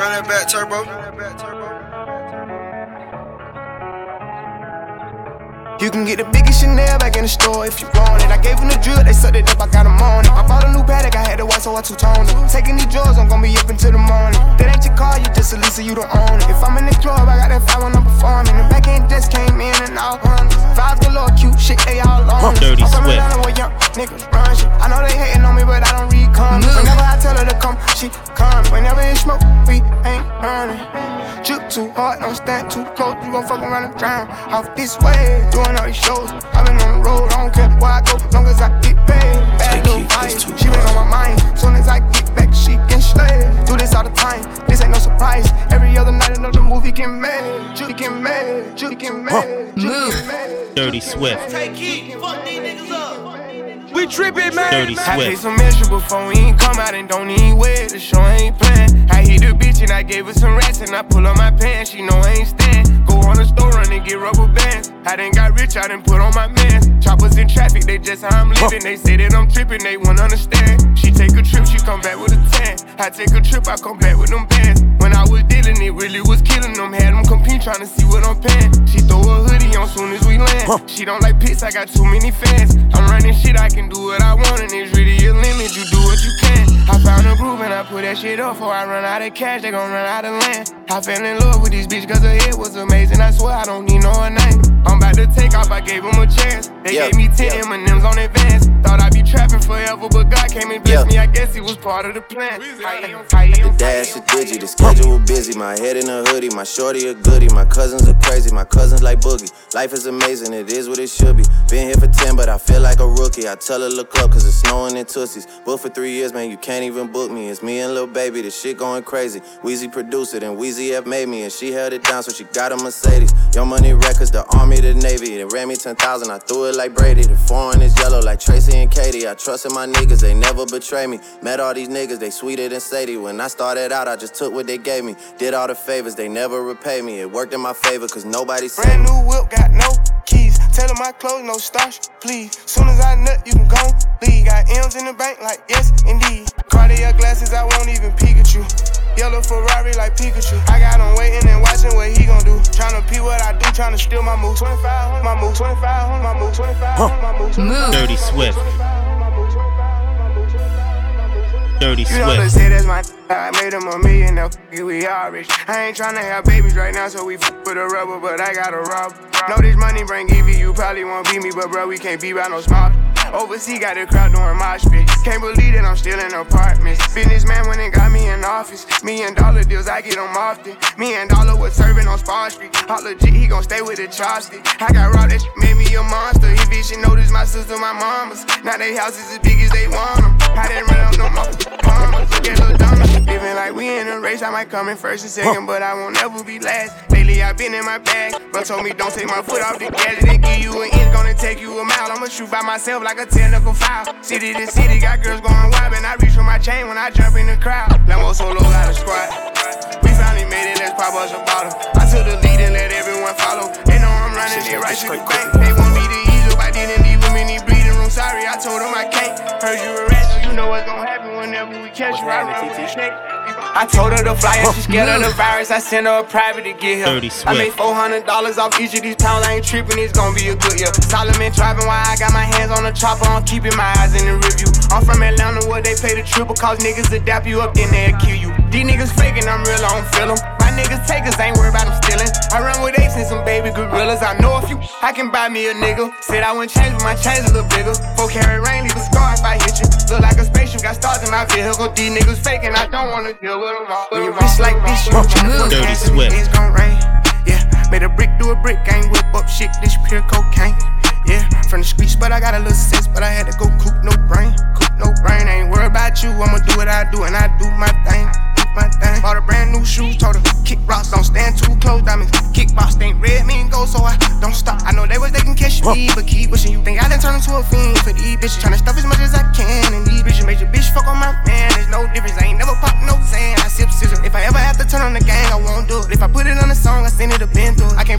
Run that back, turbo. You can get the biggest Chanel back in the store if you want it. I gave them the drill, they sucked it up, I got them on it. I bought a new Patek, I had to watch, so I two-toned it. Taking these drugs, I'm gon' be up until the morning. That ain't your car, you just a Lisa, you don't own it. If I'm in the club, I got that 5 when I'm performing. The back end just came in and all hundreds. Fives galore, cute shit, they all on it. Dirty I'm from Swift. Atlanta where young niggas run shit. I know they hating on me, but I don't read comments. Whenever I tell her to come, she comes. Whenever it smoke, we ain't running. Juke too hard, don't stand too close. You gon' fuck around and drown. Off this way, doing all these shows. I've been on the road, I don't care where I go, long as I get paid. Bad little vibe, she been on my mind. Soon as I get back, she can slay. Do this all the time, this ain't no surprise. Every other night another movie get made. Juke get made, Juke get made, Juke get made. Dirty Swift. Take heat, fuck these niggas up. We trippin', man. Dirty I pay Swift. some extra before we ain't come out and don't even wear it. The show ain't playing. I hit the bitch and I gave her some rats and I pull up my pants. She know I ain't stand. Go on the store run and get rubber bands. I done got rich, I done put on my mans. Choppers in traffic, they just how I'm living. They say that I'm tripping, they won't understand. She take a trip, she come back with a tan. I take a trip, I come back with them bands. When I was dealing, it really was killing them. Had them compete trying to see what I'm paying. She throw a hoodie on soon as we land. She don't like pits, I got too many fans. I'm running shit, I can do what I want, and it's really a limit. You do what you can. I found a groove and I put that shit up. Before I run out of cash, they gon' run out of land. I fell in love with this bitch cause her head was amazing. I swear I don't need no name. I'm about to take off, I gave them a chance. They gave me 10 M&M's on advance. Thought I'd be trapping forever, but God came and blessed me. I guess it was part of the plan. The dash is digi, the schedule was busy. My head in a hoodie, my shorty a goodie. My cousins are crazy, my cousins like Boogie. Life is amazing, it is what it should be. Been here for 10, but I feel like a rookie. I tell her look up, cause it's snowing in Tootsies. Booked for 3 years, man, you can't even book me. It's me and Lil Baby, the shit going crazy. Weezy produced it, and Weezy F made me. And she held it down, so she got a Mercedes. Young Money Records, the Army, the Navy. They ran me 10,000, I threw it like Brady. The foreign is yellow like Tracy and Katie. I trusted my niggas, they never betray me. Met all these niggas, they sweeter than Sadie. When I started out, I just took what they gave me. Did all the favors, they never repay me. It worked in my favor, cause nobody saved Brand me. new whip, got no keys. Tell her my clothes, no starch, please. Soon as I nut, you can go leave. Got M's in the bank, like yes, indeed. Cartier glasses, I won't even peek at you. Yellow Ferrari like Pikachu. I got him waiting and watching what he gon' do. Tryna pee what I do, tryna steal my moves. 25, my move, 25, my move, 25, my move. Dirty Swift. Dirty You know they Swift. say that's my I made him $1 million, now we all rich. I ain't tryna have babies right now, so we with a rubber, but I got a rob. Know this money bring Evie, you probably won't beat me, but bro, we can't be by no smart. Overseas got the crowd doing mosh pit. Can't believe that I'm still in apartments. Businessman when it got me in office. $1 million deals, I get them often. $1 million was serving on Spar Street. All legit, he gon' stay with the chopstick. I got robbed, that shit made me a monster. He bitch, she noticed my sister, my mamas. Now they houses as big as they want them. I didn't run up no more mamas. Look at little dummy. Living like we in a race, I might come in first and second, but I won't never be last. Lately I been in my bag, but told me don't take my foot off the gas. They give you an inch, gonna take you a mile. I'ma shoot by myself like a technical foul. City to city, got girls going wild, and I reach for my chain when I jump in the crowd. Lambo solo got a squad. We finally made it, let's pop us a bottle. I took the lead and let everyone follow. They know I'm running it right to the bank. They want me to ease up, I didn't leave them in the bleeding room. Sorry, I told them I can't. Heard you a rat, so you know what's gonna happen whenever we catch you. I run with the snake. I told her to fly and she scared of the virus. I sent her a private to get here. Dirty Swift. I made $400 off each of these pounds. I ain't tripping, it's gonna be a good year. Solomon driving while I got my hands on the chopper. I'm keeping my eyes in the review. I'm from Atlanta where they pay the triple, cause niggas adapt you up, then they'll kill you. These niggas faking, I'm real, I don't feel them. My niggas takers, ain't worried about them stealing. I run with apes and some baby gorillas. I know a few, I can buy me a nigga. Said I wouldn't change, but my chains a little bigger. 4 carat rain, leave a scar if I hit you. Look like a spaceship, got stars in my vehicle. These niggas faking, I don't wanna deal with them all. When you bitch like this, you tryna Dirty Swift. It's gon' rain. Yeah, made a brick do a brick, ain't whip up shit, this pure cocaine. Yeah, from the streets, but I got a little sense, but I had to go coop no brain. Coop no brain, ain't worried about you, I'ma do what I do, and I do my thing. My thing. Bought a brand new shoes, told her kick rocks, don't stand too close. Diamonds, kickbox ain't red, me and gold, so I don't stop. I know they can catch me, but keep wishing. You think I done turned into a fiend for these bitches? Tryna stuff as much as I can, and these bitches made your bitch fuck on my man. There's no difference, I ain't never pop no Zan. I sip scissor. If I ever have to turn on the gang, I won't do it. If I put it on a song, I send it a bend through it. I can't put it in my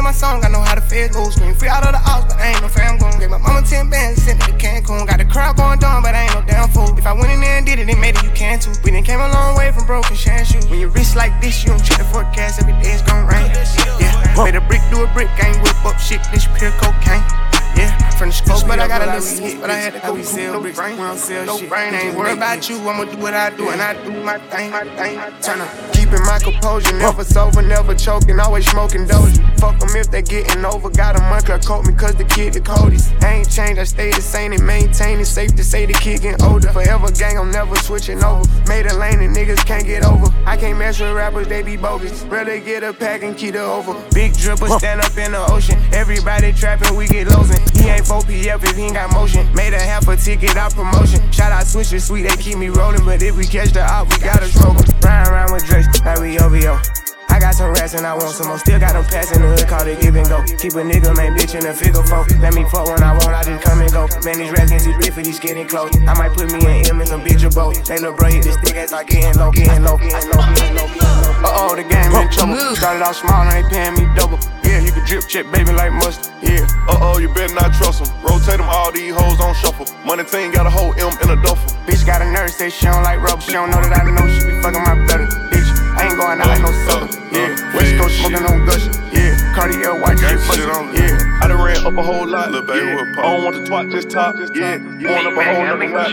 my song, I know how to fed go. Scream free out of the house, but I ain't no fam gon'. Gave my mama 10 bands, sent it to Cancun. Got the crowd going down, but I ain't no damn fool. If I went in there and did it, they made it, you can too. We done came a long way from broken shine shoes. When your wrist like this, you don't check the forecast, every day it's gon' rain. Yeah, made a brick do a brick, I ain't whip up shit, this pure cocaine. Yeah, from the schools, but I got a little hit, but I had to go sell bricks. No brain, I ain't worried about you, I'ma do what I do, and I do my thing. Turn up, keeping my composure, never sober, never choking, always smoking doja. Fuck them if they getting over, got a month, coat me cause the kid the coldest. I ain't changed, I stay the same and maintain it, safe to say the kid getting older. Forever gang, I'm never switching over, made a lane and niggas can't get over. I can't mess with rappers, they be bogus, rather get a pack and keep it over. Big dripper, stand up in the ocean, everybody trapping, we get losing. He ain't 4PF if he ain't got motion. Made a half a ticket out promotion. Shout out Switcher Sweet, they keep me rolling. But if we catch the op, we gotta stroke em. Riding around with Drake, like we OVO. I got some rats and I want some more. Still got them pass in the hood, call it give and go. Keep a nigga, man, bitch in a figure four. Let me fuck when I want, I just come and go. Man, these rats get too big for these getting close. I might put me in him in some bitch or both. They little bro hit this stick as I getting low. Uh-oh, the game in trouble. Started out small, now they paying me double. Yeah, you can drip check, baby, like mustard. Yeah. Uh-oh, you better not trust them. Rotate them, all these hoes on shuffle. Money team got a whole M in a duffel. Bitch got a nurse, say she don't like rubber. She don't know that I know she be fucking my brother. Bitch, I ain't going out like no sucker. Yeah, West Coast smoking on gushing. Yeah, Cartier white shit bustin'. Yeah, I done ran up a whole lot. Little baby, I don't want the twat, just top. Yeah, going up a whole nother lot.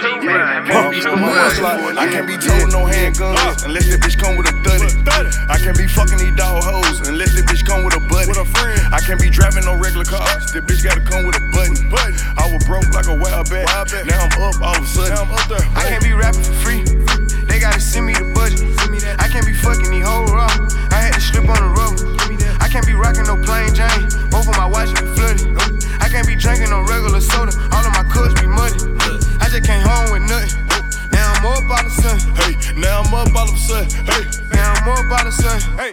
I can't be told no handguns unless that bitch come with a 30. I can't be fucking these dog hoes unless that bitch come with a buddy. I can't be driving no regular cars. That bitch gotta come with a button. I was broke like a wild bat. Now I'm up all of a sudden. I can't be rapping for free. They gotta send me the budget. I can't be fucking these hoes raw. I had to slip on the rubber. I can't be rocking no plain Jane. Both of my watches be flooded. I can't be drinking no regular soda. All of my cups be muddy. I just came home with nothing. Now I'm up all of a sudden. Hey, now I'm up all of a sudden. Hey, now I'm up all of a sudden. Hey.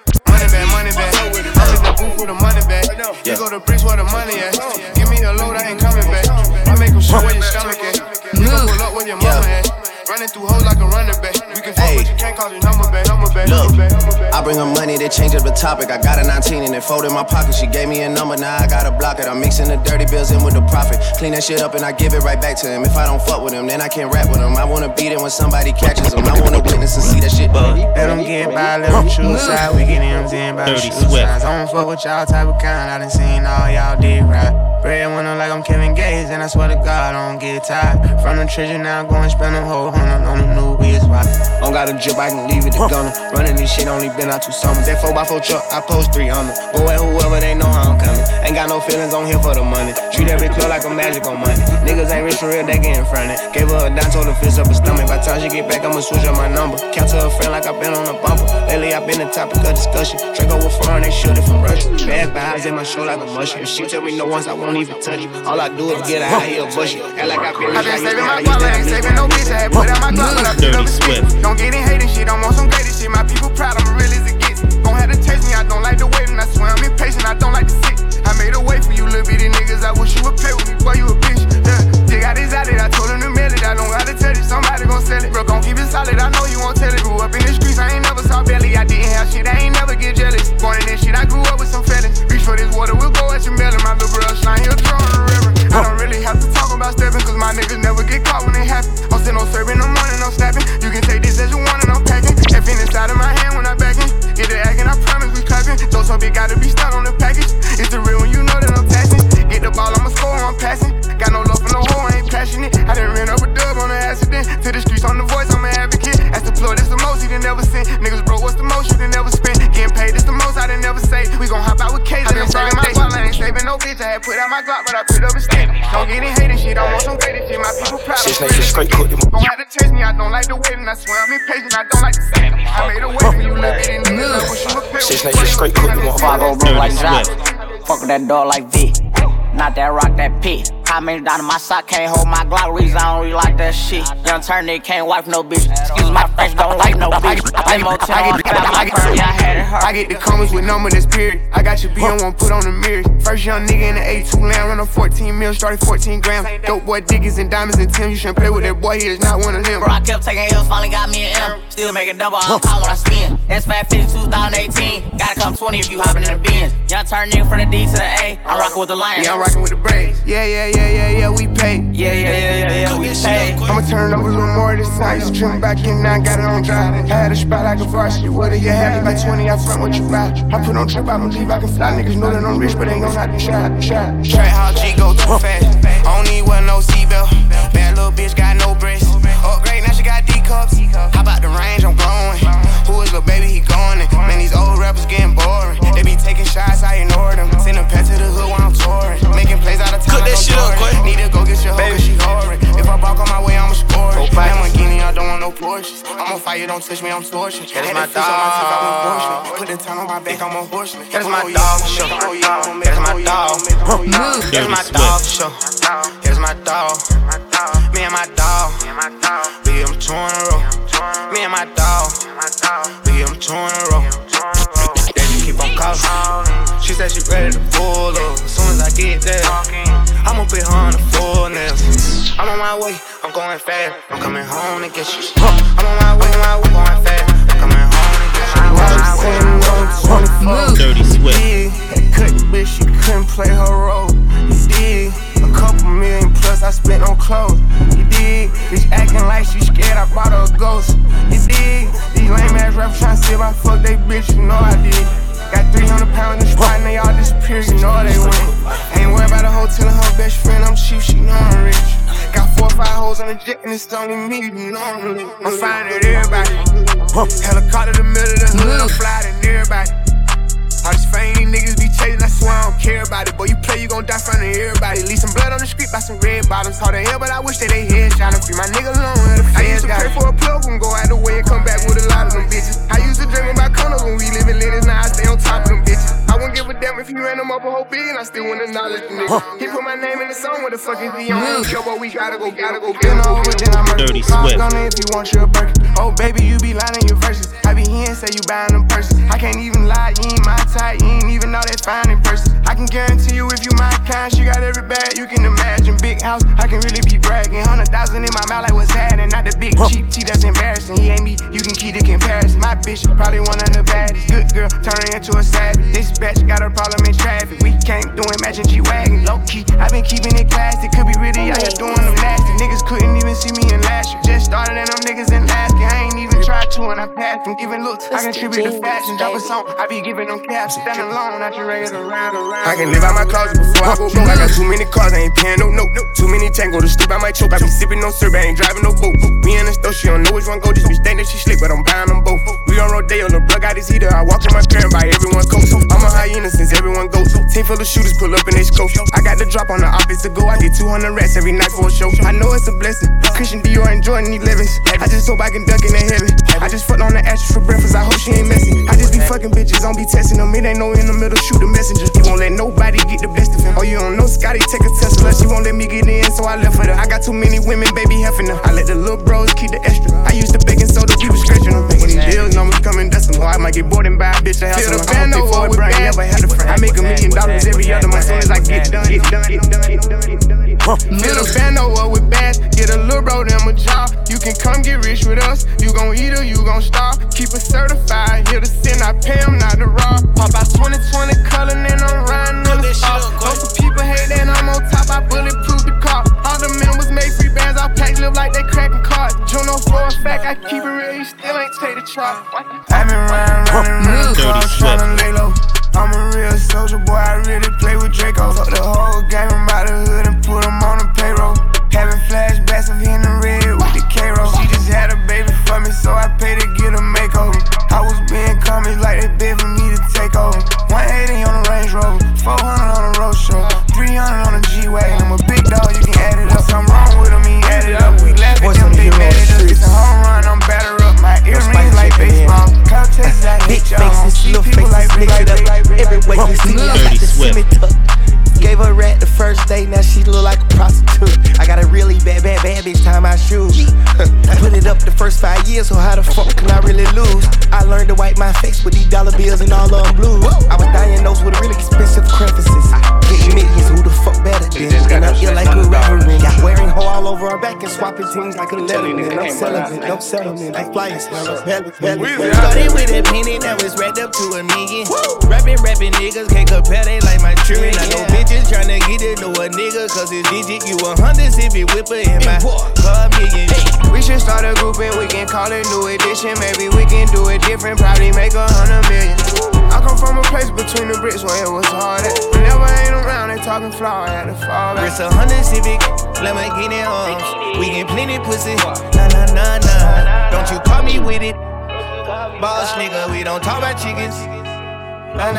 Money back. I'm in the booth with the money back. You go to bricks where the money at. Give me a load, I ain't coming back. I make them show where your stomach at. You gon' pull up where your mama at. Running through hoes like a running back. You can fuck, but you can't call your number back. Look, I bring her money, they change up the topic. I got a 19 and it fold in my pocket. She gave me a number, now I gotta block it. I'm mixing the dirty bills in with the profit. Clean that shit up and I give it right back to him. If I don't fuck with him, then I can't rap with him. I wanna beat it when somebody catches him. I wanna witness and see that shit. Let them get by, let them choose side. We get M's in by the shoe size. I don't fuck with y'all type of kind. I done seen all y'all did right. Breadwinner like I'm Kevin Gates, and I swear to God I don't get tired. From the treasure now, go and spend a whole $100 on the new wheels. Don't got a drip, I can leave it to gunner. Running this shit only been out 2 summers. That 4x4 truck, I post 3 on them. Go at whoever, they know how I'm coming. Ain't got no feelings on here for the money. Treat every club like a magic on money. Niggas ain't rich for real, they getting fronted. Gave her a dime, told her fist up her stomach. By the time she get back, I'ma switch up my number. Count to her friend like I been on a bumper. Lately I been the topic of discussion. Draco with foreign, they shoot it from Russia. Bad vibes in my show like a mushroom. She tell me no once, I won't even touch it. All I do is get out here bushy. Act like I been rich, I saving my guap, I ain't saving no bitch. I had put out my Glock, but I put up a spit. Don't get in hating shit, I'm on some greatest shit. My people proud, I'm real as it gets. Gon' have to taste me, I don't like the wait, and I swear I'm impatient, I don't like to sit. I made a way for you little bitty niggas, I wish you would play with me, boy, you a bitch. Dig out his out it, I told him to mail it, I don't gotta tell it, somebody gon' sell it. Bro, gon' keep it solid, I know you won't tell it. Grew up in the streets, I ain't never saw belly, I didn't have shit, I ain't never get jealous. Born in this shit, I grew up with some fellas. Reach for this water, we'll go at your melon. My little bro slime, he'll throw in the river. I don't really have to talk about stepping, cause my niggas never get caught when it happen. I'm still no serving in the morning, I'm snapping. You can take this as you want and I'm packing. F in inside of my hand when I'm backing. Get the acting, I promise we clapping. Those hoes, it gotta be stuck on the package. It's the real when you know that I'm passing. Get the ball, I'ma score, I'm passing. Got no love for no hoe, I ain't passionate. I done ran up a dub on an accident. To the streets on the voice, I'm an advocate. That's the plug, that's the most he done never sent. Niggas broke, what's the most you done never spent? Getting paid, that's the most I done never say. We gon' hop out with K's. I been saving my guap, I ain't saving no bitch. I had put out my Glock, but I put up a stick. Don't get in hating shit, I want some greater shit. My people proud of me. Straight cook them. Gon' have to taste me, I don't like the wait, and I swear I'm impatient, I don't like to say. I made a way for you little bitty niggas, I wish you would pay. Six niggas straight cook them. Before I go broke like Jock, fuck with that dog like V. Not that rock, that P. How many down in my sock, can't hold my Glock. Reason I don't really like that shit. Young turn nigga can't wife no bitch. Excuse my French, don't like no bitch. I get the comments with number that's period. I got your B on one, put on the mirrors. First young nigga in the A2 land, run a 14 mil, started 14 grams. Dope boy, diggies and diamonds and Tim. You shouldn't play with that boy, he is not one of them. Bro, I kept taking L's, finally got me an M. still making double on call when I spin. S550 2018, gotta come 20 if you hopping in the Benz. Young turn nigga from the D to the A, I'm rocking with the Lions. Yeah, I'm rocking with the Braves. Yeah, we pay. Yeah, we pay. I'ma turn it over a little more this time. Used to trim back in, now I got it on dry. I had a spot like a varsity. What if you have me by 20? I front what you buy. I put on trip, I don't leave, I can fly. Niggas know that I'm rich, but ain't gon' not be shot. Track how G go too fast. I don't need one, no seatbelt. Bad little bitch got no breasts. Upgrade, now she got D cups. How about the range? I'm glowing. Who is little baby? He going in. Man, these old rappers getting boring. They be taking shots, I ignore them. Send a pet to the hood while I'm touring. Making plays out of time. Cook that shit up, quick. Need to go get your hoe, cause she whoring. If I walk on my way, I'ma score it. Lamborghini, I don't want no Porsches. I'm on fire, don't touch me, I'm torching. That's my dog. Put the time on my back, I'm a horseman. That's my dog, show. That's my dog. That's my dog, show. That's my dog. Me and my dog. We get them 2 in a row. Me and my dog. We get them 2 in a row. They just keep on calling. She said she ready to pull up. As soon as I get there, I'ma put her on the full nails. I'm on my way, I'm going fast. I'm coming home to get you. I'm on my way, I'm going fast. I'm coming home to get you. Dirty Swift. That cut bitch, she couldn't play her role. You dig? A couple million plus I spent on clothes. You dig? Bitch acting like she scared, I bought her a ghost. You dig? These lame ass rappers tryna see if I fuck they bitch, you know I did. Got 300 pounds in the spot and they all disappear, you know they win. Ain't worried about a hoe telling her best friend I'm cheap, she know I'm rich. Got 4 or 5 hoes on the jet and it's only me, you know I'm lit. I'm finding everybody. Helicopter the middle of the hood, I'm flying everybody. All these fame niggas be chasing, I swear I don't care about it. Boy, you play, you gon' die in front of everybody. Leave some blood on the street by some red bottoms. Hard to hell, but I wish that they headshot him. Free my nigga alone, the I used to pray for a plug and go out the way and come back with a lot of them bitches. I used to dream about condos when we live in Linus, now I stay on top of them bitches. I wouldn't give a damn if he ran them up a whole billion, I still wouldn't acknowledge the nigga. He put my name in the song, what the fuck is he on? Yo, boy, we gotta go, get over, then I'm Dirty Swift. If you want your burger. Oh, baby, you be lying your verses. I be here and say you buying them purses. I can't even lie, you ain't my type, you ain't even know that fine in person. I can guarantee you if you my kind, she got every bag you can imagine. Big house, I can really be bragging. 100,000 in my mouth like what's happening. Not the big cheap tea that's embarrassing. He ain't me, you can keep the comparison. My bitch probably one of the baddest. Good girl, turning into a savage. This bitch got a problem in traffic. We can't do it, matching G-Wagon. Low key, I been keeping it classy. Could be really out here doing them nasty. Niggas couldn't even see me in last year. Just started and them niggas in last year. I ain't even tried to and I passed from giving looks. I contribute to fashion, drop a song. I be giving them caps. Stand alone, not your regular round. I can live out my closet before I go broke. I got too many cars, I ain't paying no note. Too many tango to sleep, I might choke. I be sipping no syrup, I ain't driving no boat. We in the store, she don't know which one go. This bitch think that she slick, but I'm buying them both. We on Rodeo, the plug got his heater. I walk in my car and buy everyone coat. I'm a hyena since everyone goes. Team full of shooters pull up in they scope. I got the drop on the office to go. I get 200 rats every night for a show. I know it's a blessing. Christian Dior and Jordan 11s. I just hope I can duck in the heaven. I just fucked on the ashes for breakfast. I hope she ain't messy. I just be fucking bitches, don't be testing them. It ain't no in the middle, shoot the messenger. He won't let nobody get the best of him. Oh, you don't know Scotty, take a Tesla. She won't let me get in, so I left for her. I got too many women, baby, heffing her. I let the little bros keep the extra. I used to baking soda, we was scratching them. When these bills numbers come and dust them, I might get bored and buy a bitch to help them. I'm gonna pay for a brand, never had a friend. I make $1 million every other month, soon as I get done. Fill the bando up with bass, get a little bro them a job. You can come get rich with us, you gon' eat or you gon' starve. Keep it certified, here to sin, I pay them not to rob. Pop out 2020 color, and I'm riding in the stop. Most of people hate that I'm on top, I bulletproof the car. All the members make free bands, I pack live like they cracking cards. Juno for a fact, I keep it real, you still ain't take the chop. I been running cars, tryna lay low. I'm a real soldier boy, I really play with Draco. Fuck the whole game, I'm out the hood and put them on the payroll. Having flashbacks of hitting the red with the K-roll. She just had a baby for me, so I paid to get a makeover. I was being comments like they bid for me to take over. 180 on the Range Rover, 400 on the road show, 300 on the G-Wagon. I'm a big dog, you can add it up. Something wrong with them, he add it up. We laugh at them, they mad at us. It's a home run, I'm batter up. My earrings like baseball. Couches, I hate y'all. Little faces, mix it up. Everywhere you see me, I got the semi tuck. Gave her a rat the first day, now she look like a prostitute. I got a really bad bitch tie my shoes. Put it up the first 5 years, so how the fuck can I really lose? I learned to wipe my face with these dollar bills and all of them blues. I was diagnosed with really expensive crevices. Getting millions, who the fuck better than. And I feel like a reverend. Got wearing hoe all over our back and swapping teams like a letterman. I'm celibate, no settlement. I fly and smell of belly. Started with a penny that was wrapped up to $1 million. Rapping niggas can't compare, they like my children. I know bitches tryna get it to a nigga, cause it's digit. You 100 if it whipper in my car million. We should start a group and we can call it New Edition. Maybe we can do it different, probably make 100 million. I come from a place between the bricks where it was hard at. Whenever I ain't around, they talking flaw, I had to fall back. It's 100 Civic, Lamborghini arms. We get plenty pussy, nah. Don't you call me with it. Boss nigga, we don't talk about chickens. My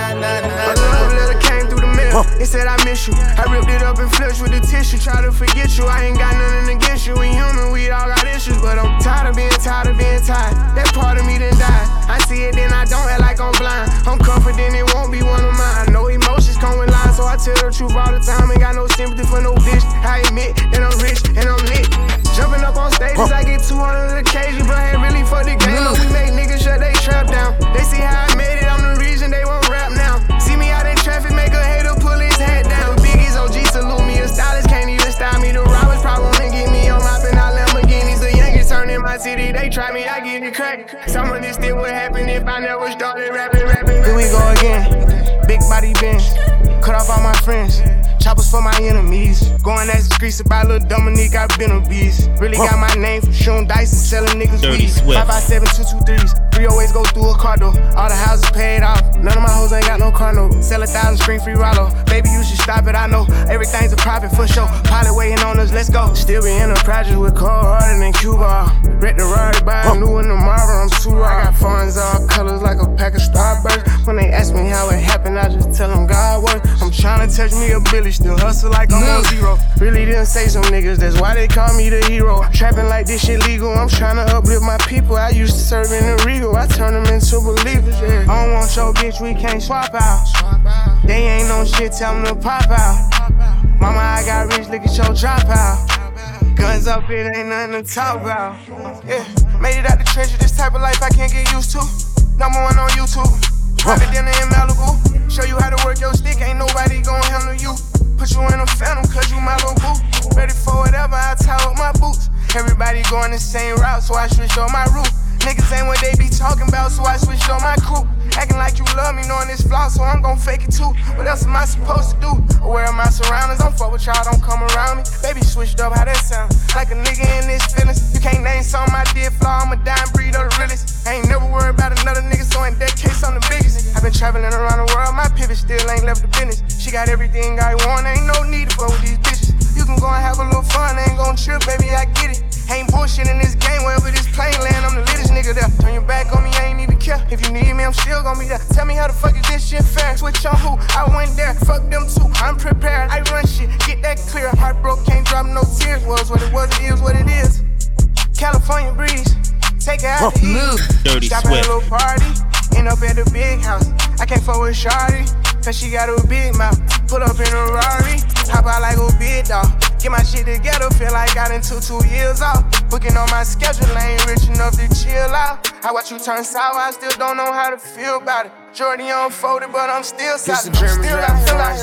love letter came through the mail. It said I miss you. I ripped it up and flushed with the tissue. Try to forget you. I ain't got nothing against you. We human, we all got issues, but I'm tired of being tired. That part of me done died. I see it, then I don't act like I'm blind. I'm confident it won't be one of mine. No emotions come with lies, so I tell the truth all the time. Ain't got no sympathy for no bitch. I admit that I'm rich and I'm lit. Jumping up on stages, I get 200 occasions, but ain't really for the game. But we make niggas shut they trap down. They see how I made it, I'm the reason they won't rap now. See me out in traffic, make a hater pull his head down. Biggie's OG salute me, a stylist can't even style me. The robbers probably wanna get me on mopping out Lamborghinis. The youngest turn in my city, they try me, I get it crack. Some of this still would happen if I never started rapping. Here we go again, big body Benz, cut off all my friends. Choppers for my enemies. Going at the streets about Lil Dominique, I been a beast. Really got my name from shooting dice and selling niggas weed. 557 223s. 308s go through a car door. All the houses paid off. None of my hoes ain't got no car note. Sell 1,000 screen free Rollo. Baby, you should stop it, I know. Everything's a profit for sure. Pilot waiting on us, let's go. Still be in the project with cold harder than Cuba. Wreck the Rari, buy a new one tomorrow. I'm too raw. I got funds all colors like a pack of Starburst. When they ask me how it happened, I just tell them God work. I'm trying to touch me a Billy. Still hustle like I'm on zero. Really didn't say some niggas, that's why they call me the hero. Trapping like this shit legal, I'm trying to uplift my people. I used to serve in the Regal, I turn them into believers, yeah. I don't want your bitch, we can't swap out. They ain't no shit, tell them to pop out. Mama, I got rich, look at your drop out. Guns up, it ain't nothing to talk about. Yeah, made it out the treasure, this type of life I can't get used to. #1 on YouTube. Private dinner in Malibu. Show you how to work your stick, ain't nobody gon' handle you. Put you in a phantom, cause you my little boo. Ready for whatever, I tie up my boots. Everybody going the same route, so I switched on my route. Niggas ain't what they be talking about, so I switched on my crew. Acting like you love me, knowing this flaw, so I'm gon' fake it too. What else am I supposed to do? Aware of my surroundings, don't fuck with y'all, don't come around me. Baby switched up, how that sound? Like a nigga in this feelings. You can't name something I did flaw, I'm a dying breed of the realest. I ain't never worried about another nigga, so in that case I'm the biggest. I've been traveling around the world, my pivot still ain't left the business. She got everything I want, ain't no need to fuck with these bitches. You can go and have a little fun, ain't gon' trip, baby, I get it. Ain't bullshit in this game, wherever this plane land, I'm the latest nigga there. Turn your back on me, I ain't even care. If you need me, I'm still gon' be there. Tell me how the fuck is this shit fair? Switch on who? I went there, fuck them too. I'm prepared, I run shit, get that clear. Heart broke, can't drop no tears. Was what it was, it is what it is. California breeze, take it out to eat. Dirty Stop Swift. at a little party, end up at the big house. I can't fuck with Shawty, cause she got a big mouth. Put up in a Rari, hop out like a big dog. Get my shit together, feel like I done took 2 years off. Booking on my schedule, I ain't rich enough to chill out. I watch you turn sour, I still don't know how to feel about it. Jordan unfolded, but I'm still solid. Still I feel like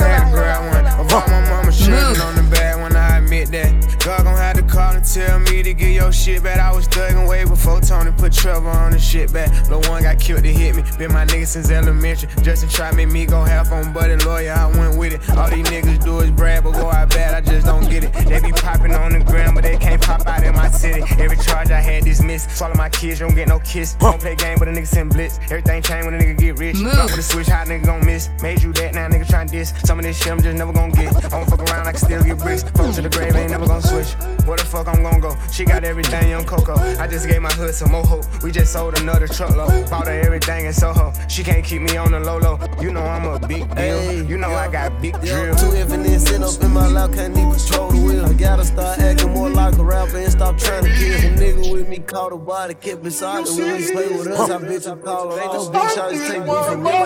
I bought my mama shit on the bag when I admit that. God gon' have to call and tell me to get your shit back. I was thuggin' way before Tony put Trevor on the shit back. Lil' one got killed to hit me. Been my nigga since elementary. Justin tried to make me go half on buddy lawyer, I went with it. All these niggas do is brag, but go out bad, I just don't get it. They be popping on the ground, but they can't pop out in my city. Every charge I had dismissed. Swallow my kids, you don't get no kiss. Don't play game, but a nigga send blitz. Everything change when a nigga get rich. Drop with a switch, how nigga gon' miss? Made you that, now nigga tryna diss. Some of this shit I'm just never gon' get. I don't fuck around, I can still get bricks. Fuck to the grave, ain't never gon' switch. Where the fuck I'm gon' go? She got everything, young Coco. I just gave my hood some more hope. We just sold another truckload. Bought her everything in Soho. She can't keep me on the low. You know I'm a big deal. You know I got big drill. Too infinite, sit up in my lap, can't even control the wheel. I gotta start acting more like a rapper and stop trying to kill. A nigga with me caught a body, kept beside the wheel. Play with us, I bitch, I call it all. Bitch, I just take me from me.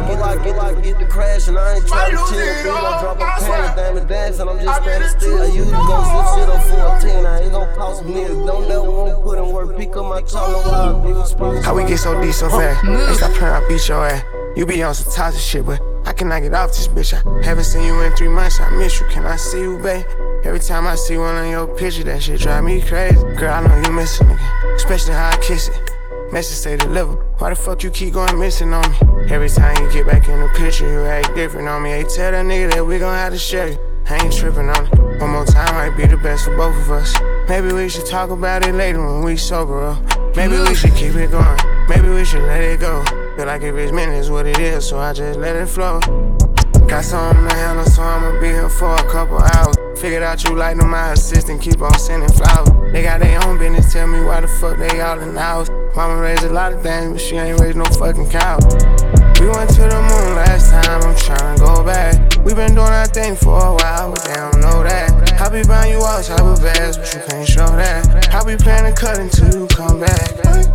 I get the crash and I ain't trying to chill. I drop a pan, damn it, dance, and I'm just standing still. I used to go sit shit on 14, I ain't gon' cost me. Don't never wanna put in work, pick up my talk, no how How we get so deep so fast? They stop playing, I beat your ass. You be on some toxic shit, but I can I get off this bitch? I haven't seen you in 3 months, I miss you. Can I see you, babe? Every time I see one on your picture, that shit drive me crazy. Girl, I know you miss a nigga, especially how I kiss it. Message say deliver. Why the fuck you keep going missing on me? Every time you get back in the picture, you act different on me. Hey, tell that nigga that we gon' have to share you. I ain't tripping on it. One more time might be the best for both of us. Maybe we should talk about it later when we sober up. Maybe we should keep it going. Maybe we should let it go. Feel like if it's meant, it's what it is, so I just let it flow. Got something to handle, so I'ma be here for a couple hours. Figured out you like them, my assistant, keep on sending flowers. They got their own business, tell me why the fuck they all in the house. Mama raised a lot of things, but she ain't raised no fucking cow. We went to the moon last time, I'm tryna go back. We been doing our thing for a while, but they don't know that. I be buying you all type of bags, but you can't show that. I be planning to cut until you come back.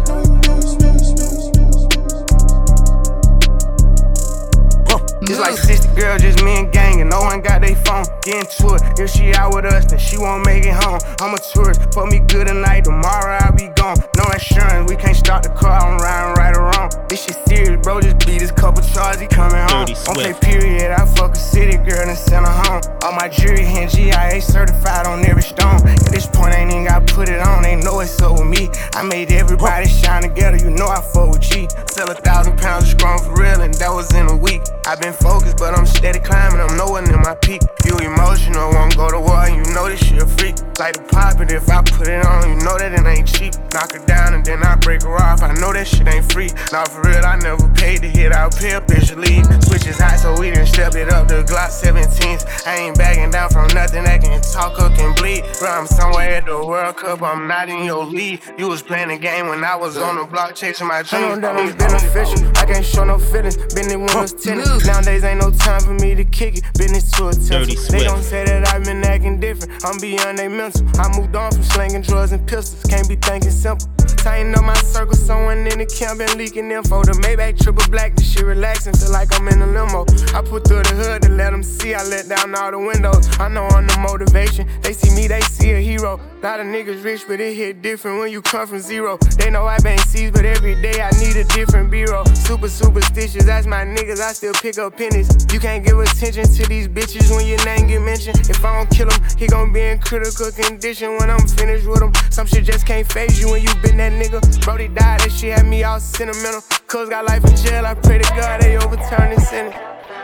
It's like 60 girls, just me and gang, and no one got they phone. Get into it, if she out with us, then she won't make it home. I'm a tourist, fuck me good tonight, tomorrow I'll be gone. No insurance, we can't start the car, I'm riding right or wrong. This shit serious, bro, just beat this couple charges, he coming home. Okay, period, I fuck a city girl and send her home. All my jewelry and GIA certified on every stone. At this point, ain't even got put it on, they know it's up with me. I made everybody shine together, you know I fuck with G. Sell 1,000 pounds of strong for real, and that was in a week. I been focused, but I'm steady climbing, I'm nowhere near my peak. You emotional, won't go to war, and you know this shit a freak. Like to pop it if I put it on, you know that it ain't cheap. Knock her down and then I break her off, I know that shit ain't free. Nah, for real, I never paid to hit out pay officially. Switch is hot, so we done stepped it up to Glock 17s. I ain't backing down from nothing that can talk or can bleed. Bro, I'm somewhere at the World Cup, I'm not in your league. You was playing the game when I was on the block chasing my dreams. I know that I'm beneficial, I can't show no feelings. Been in when was tennis. Nowadays ain't no time for me to kick it. Business to attention. They gon' say that I've been acting different. I'm beyond they mental. I moved on from slanging drugs and pistols. Can't be thinking simple. Tighten up my circle, someone in the camp been leaking info. The Maybach triple black, this shit relaxing, feel like I'm in a limo. I put through the hood to let them see, I let down all the windows. I know I'm the motivation, they see me, they see a hero. Lot of niggas rich, but it hit different when you come from zero. They know I bang C's, but every day I need a different bureau. Super superstitious, that's my niggas, I still pick up pennies. You can't give attention to these bitches when your name get mentioned. If I don't kill him, he gon' be in critical condition when I'm finished with him. Some shit just can't phase you when you been that nigga. Brody died, that shit had me all sentimental. Cuz got life in jail, I pray to God they overturn this sentence.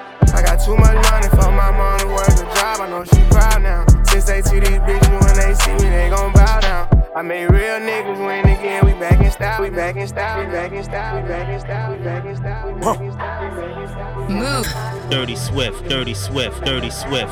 I got too much money for my mom to work a job, I know she proud now. Since they see these bitches when they see me, they gon' bow down. I made real niggas win again, we back in style, we back in style, we back in style, we back in style, we back in style, we back in style, we back in style. Move. Dirty Swift, Dirty Swift, Dirty Swift.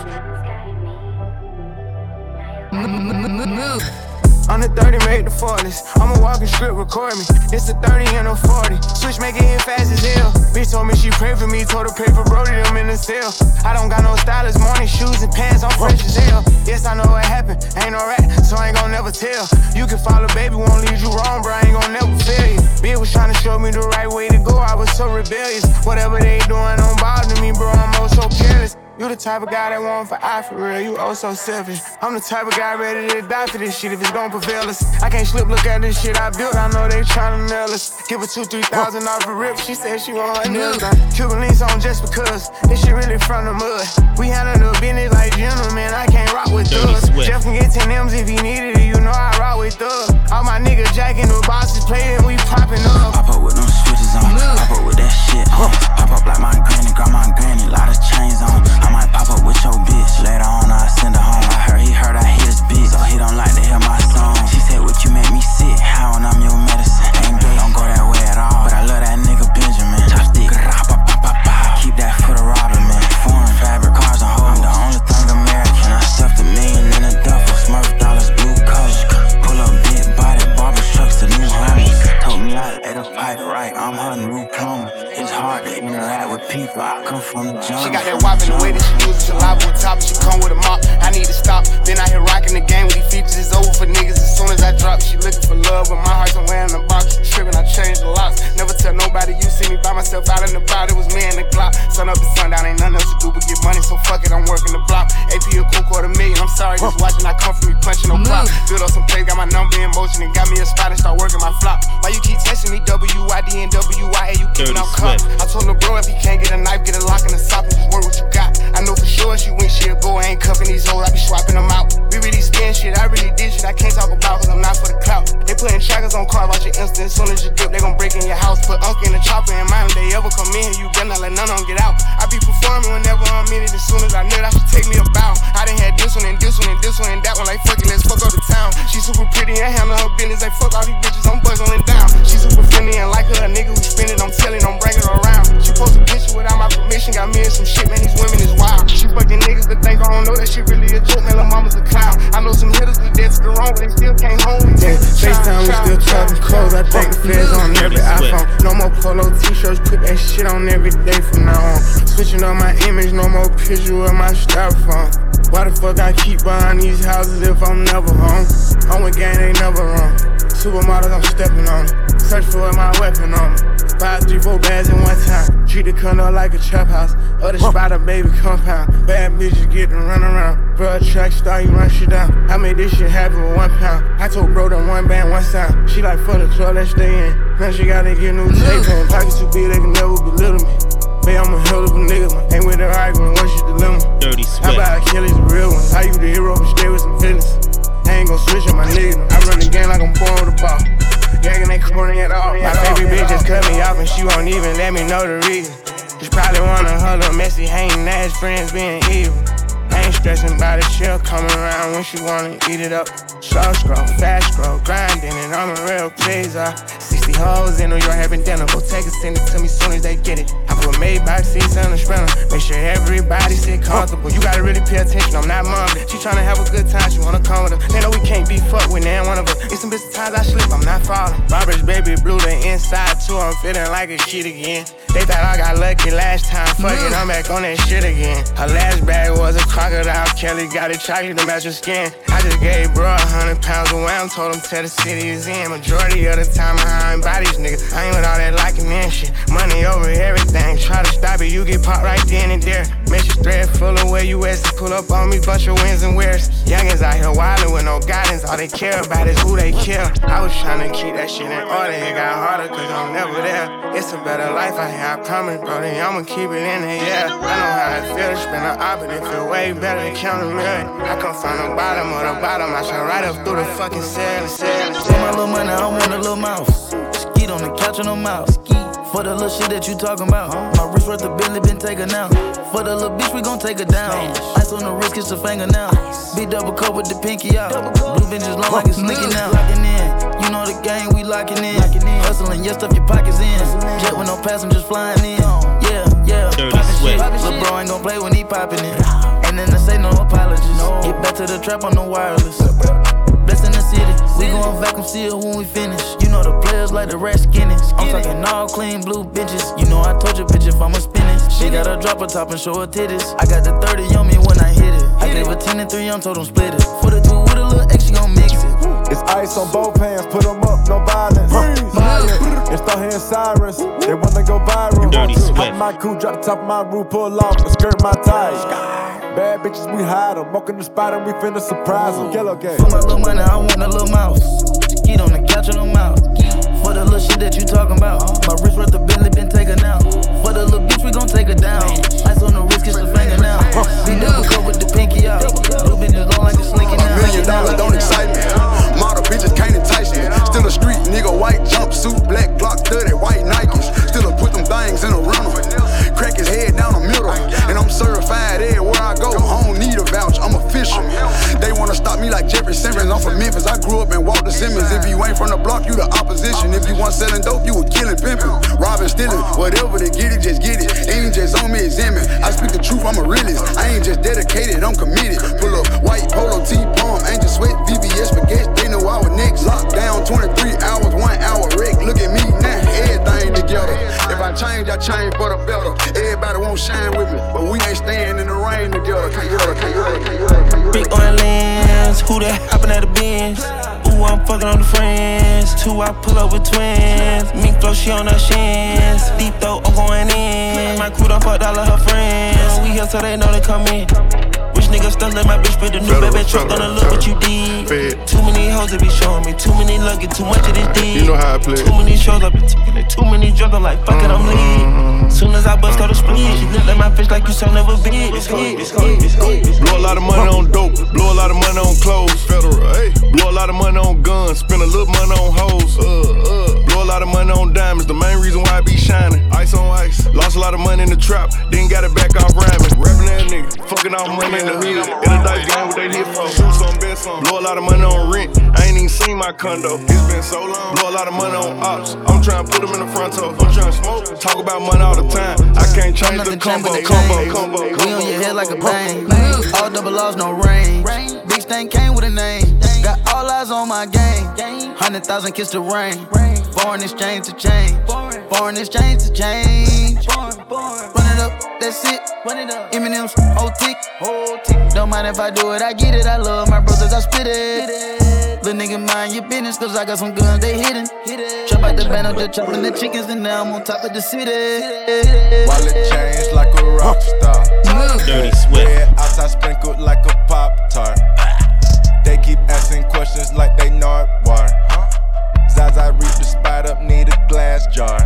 Move. I'm the 30, made the 40s. I'm a walking script, record me. It's a 30 and a 40. Switch, make it hit fast as hell. Bitch told me she prayed for me, told her pray for Brody, them in the cell. I don't got no stylist, morning shoes and pants, I'm fresh as hell. Yes, I know what happened, ain't no rat, so I ain't gon' never tell. You can follow, baby, won't lead you wrong, bro, I ain't gon' never fail you. Bitch was trying to show me the right way to go, I was so rebellious. Whatever they doing don't bother me, bro, I'm oh so careless. You the type of guy that want for eye for real, you oh so selfish. I'm the type of guy ready to die for this shit if it's gon' prevail us. I can't slip, look at this shit I built, I know they tryna nail us. Give her 2,000-3,000 off a rip, she said she want her nails done. Cuban links on just because, this shit really from the mud. We handle the business like gentlemen, I can't rock with thugs. Jeff can get 10 M's if he needed it, you know I rock with thugs. All my niggas jacking the bosses playing, we popping up. Pop up with them switches on, pop up with that shit on. Pop up like my granny, grandma and granny, lot of chains on. I might pop up with your bitch, later on I send her home. I heard he I hit his bitch, so he don't like to hear my song. She said, what you make me sick, how and I'm your medicine. Ain't gay, don't go that way at all, but I love that nigga Benjamin. Chopstick, keep that for the robber, man. Foreign fabric, cars and hoes. I'm the only thing American, I stuffed $1 million in a duffel. Smurf dollars, blue colors. Pull up big body, barber trucks, the new homies. Told me I ate a pipe right, I'm her new plumber. It's hard to interact with people, I come from the jungle. She got that wop in the way that she uses saliva on top, she come with a mop. I need to stop. Been out here rocking the game with these features, it's over for niggas as soon as I drop. She looking for love, but my heart's somewhere in the box. Tripping, I changed the locks. Never tell nobody you see me by my myself out and about, it was me and the Glock. Sun up to sundown, ain't nothing else to do but get money, so fuck it, I'm working the block. AP a cool $250,000, I'm sorry, just watching, I come from me punching no block. Build up some plays, got my number in motion, and got me a spot and start working my flop. Why you keep texting me, WID and WIA, you giving out cups? I told the bro if he can't get a knife, get a lock in the sock and just work what you got. I know for sure she went, she'll go, I ain't cuffing these hoes, I be swapping them out. We really spin shit, I really did shit, I can't talk about cause I'm not for the clout. They putting trackers on cars, watch your instant, as soon as you dip, they gon' break in your house. Put Unc in the chopper and mind if they ever come in, you better not let none of them get out. I be performing whenever I'm in it, as soon as I knew that should take me a bow. I done had this one and this one and this one and that one, like fuck it, let's fuck up the town. She super pretty and handle her business, like fuck all these bitches, I'm buzzing down. She super friendly and like her, a nigga who spin it, I'm telling, I'm bringing her around. She post a picture without my permission, got me in some shit, man, these women is wild. She fucking niggas that think I don't know that shit really a joke, man, her mama's a clown. I know some hitters with dead to the wrong, but they still came home. Yeah, FaceTime, we still talking clothes, I think the feds on every iPhone. No more polo t-shirts, put that shit on every day from now on. Switching up my image, no more picture of my styrofoam. Why the fuck I keep buying these houses if I'm never home? I'm with gang, they never wrong. Supermodels, I'm stepping on them. Search for my weapon on them. 5, 3, 4 bags in one time. Treat the condo like a trap house. Other spot a baby compound. Bad bitches get to run around. Bro, track star, you run shit down. I made this shit happen with £1. I told bro that one band, one sound. She like, for the club, let's stay in. Now she gotta get new tape in. Pockets too big, they can never belittle me. Babe, I'm a hell of a nigga, man. Ain't with her arguing, what's your dilemma? Dirty Swift. How about Achilles, the real one? How you the hero, but stay with some feelings? I ain't gon' switch on my nigga. I run the game like I'm born with a ball. Gagging ain't corny at all. My baby bitch just cut me off and she won't even let me know the reason. Just probably one of her little messy hating ass friends being evil. I ain't stressing about it, she'll come around when she wanna eat it up. Slow scroll, fast scroll, grinding, and I'm a real pleaser. 60 hoes in New York having dinner, go take it, send it to me soon as they get it. I put Maybach seats on the sprinter, make sure everybody sit comfortable. You gotta really pay attention, I'm not mom. She tryna have a good time, she wanna come with her. They know we can't be fucked with neither one of us. It's some bitch times I slip, I'm not falling. Robert's baby blue, the inside too, I'm feeling like a shit again. They thought I got lucky last time, fuck it, I'm back on that shit again. Her last bag was a crocodile, Kelly got it chocolate to match her skin. I just gave bro 100 pounds away, I told him tell the city is in. Majority of the time I ain't by these niggas, I ain't with all that liking and shit. Money over everything, try to stop it, you get popped right then and there. Message thread full of where you at, to pull up on me, bunch of wins and wears. Youngins out here wildin' with no guidance, all they care about is who they kill. I was tryna keep that shit in order, it got harder cause I'm never there. It's a better life I have coming, brother, I'ma keep it in the air. I know how it feel to spin an op, but it feel way better than counting million. I come from the bottom of the bottom, I shine right up through the fucking ceiling. For my little money, I want a little mouse. Skeet on the couch on the mouse. For the little shit that you talking about, my wrist worth a Bentley been taken out. For the little bitch, we gon' take her down. Ice on the wrist, kiss her finger now. Big double cup with the pinky out. Blue bench is long like it's sneaking out. Locking in, you know the game, we locking in. Hustling, yeah, stuff your pockets in. Jet with no passengers flying in. Yeah, poppin' shit. Lil' bro ain't gon' play when he poppin' in. And then I say no apologies. Get back to the trap on the wireless. Blessed in the city, we gon' vacuum seal when we finish. You know the players like the rat skinny. I'm talking all clean blue bitches. You know I told your bitch if I'ma spin it. She gotta drop her top and show her titties. I got the 30 on me when I hit it. I gave her 10 and 3, I'm told them split it. For the 2 with a little X, she gon' mix it. It's ice on both hands, put them up, no violence. Fire, it's the hand sirens, they wanna go viral. Hop my coupe, drop the top of my roof, pull off and skirt my tires. Bad bitches, we hide them. Walk in the spot and we finna surprise them. Yellow game. For my little money, I want a little mouse. Skeet on the couch on the mouth. For the little shit that you talking about, my wrist worth a Bentley been taken out. For the little bitch, we gon' take her down. Ice on the wrist, kiss the finger now. Be double cup with the pinky out. Blue bitches long like it's slinking out. $1 million don't excite me. Model bitches can't entice me. Still a street nigga, white jumpsuit, black Glock 30, white Nikes. Still put them things in a rental. Crack his head down the middle. And I'm certified everywhere I go. I don't need a vouch, I'm official. They wanna stop me like Jeffrey Simmons. I'm from Memphis, I grew up in Walter Simmons. If you ain't from the block, you the opposition. If you want selling dope, you a killing pimpin'. Robbing, stealing, whatever they get it, just get it. Ain't just on me, it's in me. I speak the truth, I'm a realist. I ain't just dedicated, I'm committed. Pull up white polo T-palm, Angel Sweat, VVS Spaghetti. They know I was next. Locked down 23 hours, 1 hour wreck. Look at me now, everything together. If I change for the better. Everybody won't shine with me, but we ain't staying in the rain together. Big oil lens, who that hopping at the Benz? Ooh, I'm fucking on the friends. 2, I pull up with twins. Mink flow, she she on her shins. Deep throat, I'm going in. My crew done fucked all of her friends. We here so they know they come in. Rich nigga stuck like my bitch, but the new baby truck gonna look what you did. Too many hoes that be showing me, too many luggage, too much of this deed. You know how I play. Too many shows I've been taking it, too many drugs, I'm like, fuck it, I'm leaving. Soon as I bust out the split, she look like my fish like you son of a bitch. Blow a lot of money on dope, blow a lot of money on clothes. Federal, hey. Blow a lot of money on guns, spend a little money on hoes. Blow a lot of money on diamonds, the main reason why I be shining. Ice on ice, lost a lot of money in the trap, then got it back off rhyming. Rapping that nigga, fucking off money in the hood. In a dice game, what they here for? Shoot some, bet some. Blow a lot of money on rent, I ain't even seen my condo. It's been so long. Blow a lot of money on ops, I'm trying to put them in the front toe. I'm trying to smoke, talk about money all the time. I can't change the combo. We on your head like a bang. All double laws, no rain. Big stain came with a name. Got all eyes on my game. 100,000 kiss the rain. Foreign exchange to change. Foreign exchange to change. Run it up, that's it. Eminem's whole tick. Don't mind if I do it, I get it. I love my brothers, I spit it. Little nigga, mind your business, cause I got some guns, they hidden. Chop out the band, I'm just chopping the chickens, and now I'm on top of the city. Wallet changed like a rock star. Dirty Swift. Red outside sprinkled like a Pop-Tart. They keep asking questions like they know it war. Zaza reach the spot up, need a glass jar.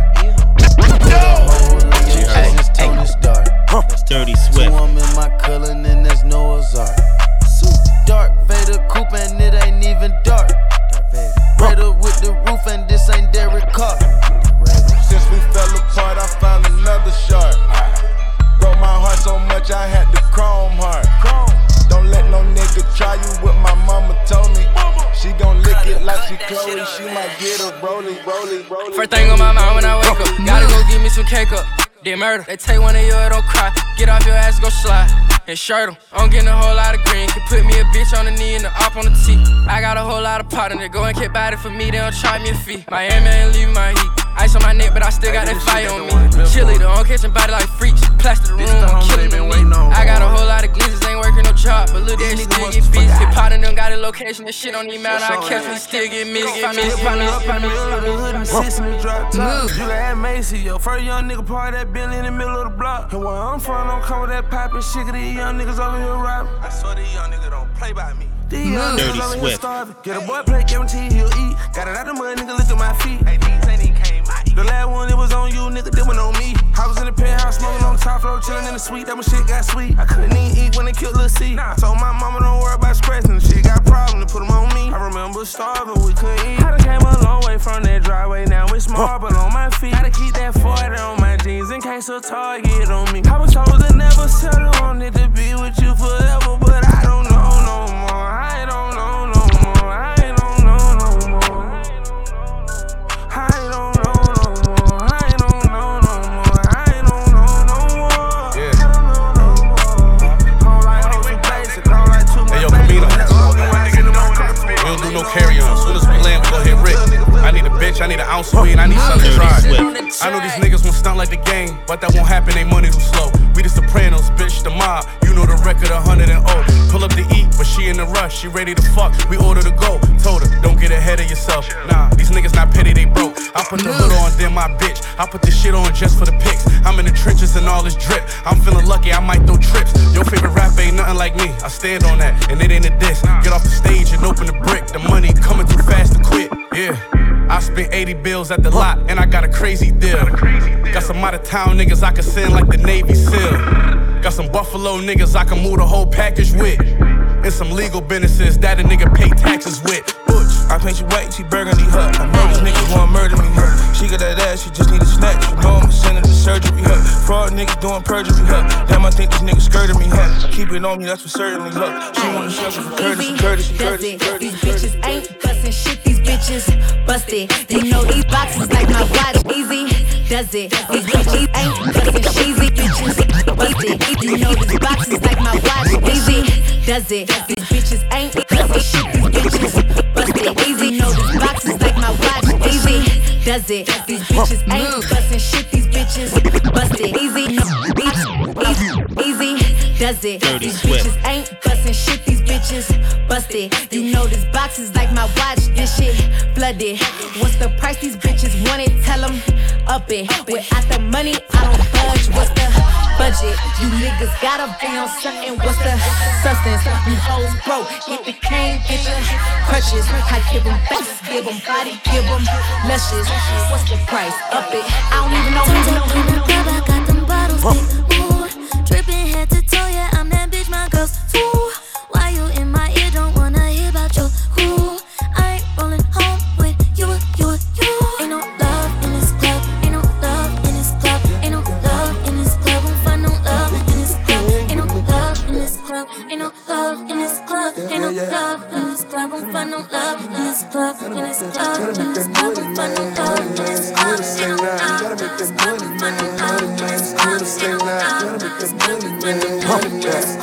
Dirty Swift. Two I'm in my color, and there's Noah's Ark. Dark Vader coupe, and it ain't even dark. Raider with the roof, and this ain't Derek Carr. Since we fell apart, I found another shark. Broke my heart so much, I had to chrome heart. Don't let no nigga try you, what my mama told me. She gon' lick it like she Chloe, she might get a rolling. First thing on my mind when I wake up, gotta go get me some cake up. Did murder, they take one of yours, don't cry. Get off your ass, go slide. And shirt 'em. I'm getting a whole lot of green. Can put me a bitch on the knee and the op on the T. I got a whole lot of pot in there. Go and get body for me, they don't charge me a fee. Miami ain't leaving my heat. Ice on my neck, but I still got that fire on me. Chili, though, I'm catching body like freaks. Plaster the room, I'm killing the meat. I got a whole lot of glizzards, ain't working no job. But look, that nigga still get beats. Hit pot in them, got a location, that shit don't even matter. I catch me, still get me. You can have Macy, yo. First young nigga party that Bentley in the middle of the block. And where I'm from, don't come with that pipe and shit. These young niggas over here robbing. I swear these young niggas don't play by me. These young niggas over here starving. Get a boy plate, guarantee he'll eat. Got it out the mud, nigga, look at my feet. Hey, these ain't even came out. The last one, it was on you, nigga, that one on me. I was in the penthouse, smoking on top floor, chillin' in the suite. That when shit got sweet. I couldn't even eat when they killed Lil' C. I told my mama don't worry about stressing. The shit got problems, to put them on me. I remember starving, we couldn't eat. I done came a long way from that driveway, now it's marble on my feet. Gotta keep that 40 on my jeans in case a target on me. I was told to never settle on it, to be with you forever, but I don't know no more. I don't know no more. I don't know no more. I don't know no more. I don't know no more. I don't know no more. Yeah. I don't know no more. Don't like hoes and basic. Don't like too much. Hey, yo, Camino. We don't do no carry-on. Soon as we land, we go hit Rick. I need a bitch, I need an ounce of weed, I need something to try. I know these niggas won't stunt like the game, but that won't happen, they money too slow. We the Sopranos, bitch, the mob. You know the record, 100 and 0. Pull up to eat, but she in the rush, she ready to fuck. We order to go. Told her, don't get ahead of yourself. Nah, these niggas not petty, they broke. I put the hood on, then my bitch. I put this shit on just for the pics. I'm in the trenches and all this drip. I'm feeling lucky, I might throw trips. Your favorite rapper ain't nothing like me. I stand on that, and it ain't a diss. Get off the stage and open the brick. The money coming too fast to quit. Yeah. I spent 80 bills at the lot, and I got a crazy deal. Got some out of town niggas I can send like the Navy SEAL. Got some Buffalo niggas I can move the whole package with. And some legal businesses that a nigga pay taxes with. I paint you white, she burgundy hut. I know these niggas wanna murder me, huh? She got that ass, she just need a snatch. You know I'ma send her to surgery, huh? Fraud niggas doing perjury, huh? Damn, I think these niggas skirted me, huh? Keep it on me, that's for certainly, huh? She wanna suffer for courtesy. These bitches ain't bustin' shit, these bitches busted. You know these boxes like my watch, easy does it. These bitches ain't bustin' sheezy, bitches busted. You know these boxes like my watch, easy does it. These bitches ain't bustin' shit, these bitches busted. Easy, know these boxes like my watch, easy does it. These bitches ain't bustin' shit, these bitches busted. Easy, easy does it. These bitches ain't bustin' shit, these bitches busted. You know this box is like my watch, this shit flooded. What's the price these bitches want it? Tell them up it. Without the money, I don't budge. What's the budget? You niggas gotta be on something. What's the substance? You hoes broke. Get the cane, get your crutches. I give them faces, give them body, give them luscious. What's the price? Up it. I don't even know. I got them bottles big, ooh. Dripping head to toe, yeah, I'm that bitch, my girls, ooh. Why you in my ear, don't wanna hear about you, ooh. I ain't rolling home with you. Ain't no love in this club, ain't no love in this club, ain't no love in this club, won't find no love in this club, ain't no love in this club, ain't no love in this club, ain't no love in this club, won't find no love in this club, in this club, in this club, won't find no love in this club, ain't no love in this club, won't find no love in this club, ain't no love in this club, won't find no love in this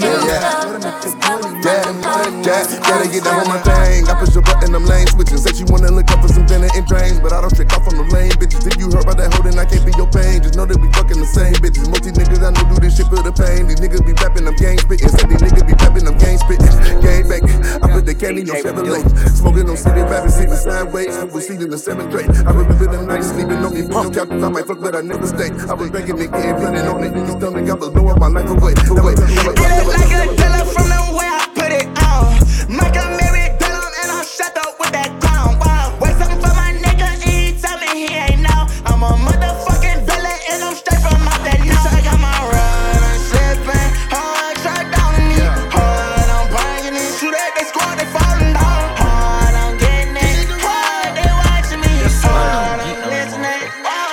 club. Gotta get down on my thing. I push a button, I'm lane switching. Said she wanna look up for some dinner and drains, but I don't trick off on the lame bitches. If you heard about that hoe, then I can't be your pain. Just know that we fucking the same bitches. Most these niggas I know do this shit for the pain. These niggas be rapping, I'm gang spitting. Said these niggas be rapping, I'm gang spitting. Gang banging. I put the candy on Chevrolet. Smoking on city, rapping, sitting sideways. We seen in the 7th grade. I remember them nights sleeping on me. No couches, I might fuck, but I never stay. I was drinking and getting blending on it. Niggas stomach, I was blowing my life away. Get it like a dealer from the way I put it on. Michael Mary Dillon and I'm shut up with that clown. Wow, wait something for my nigga and he tell me he ain't know. I'm a motherfucking villain and I'm straight from out that now. I got my run, I'm slipping hard, shut down on me. Hard, I'm banging it, shoot at they squad, they falling down. Hard, I'm getting it, hard, they watching me. Hard, I'm listening.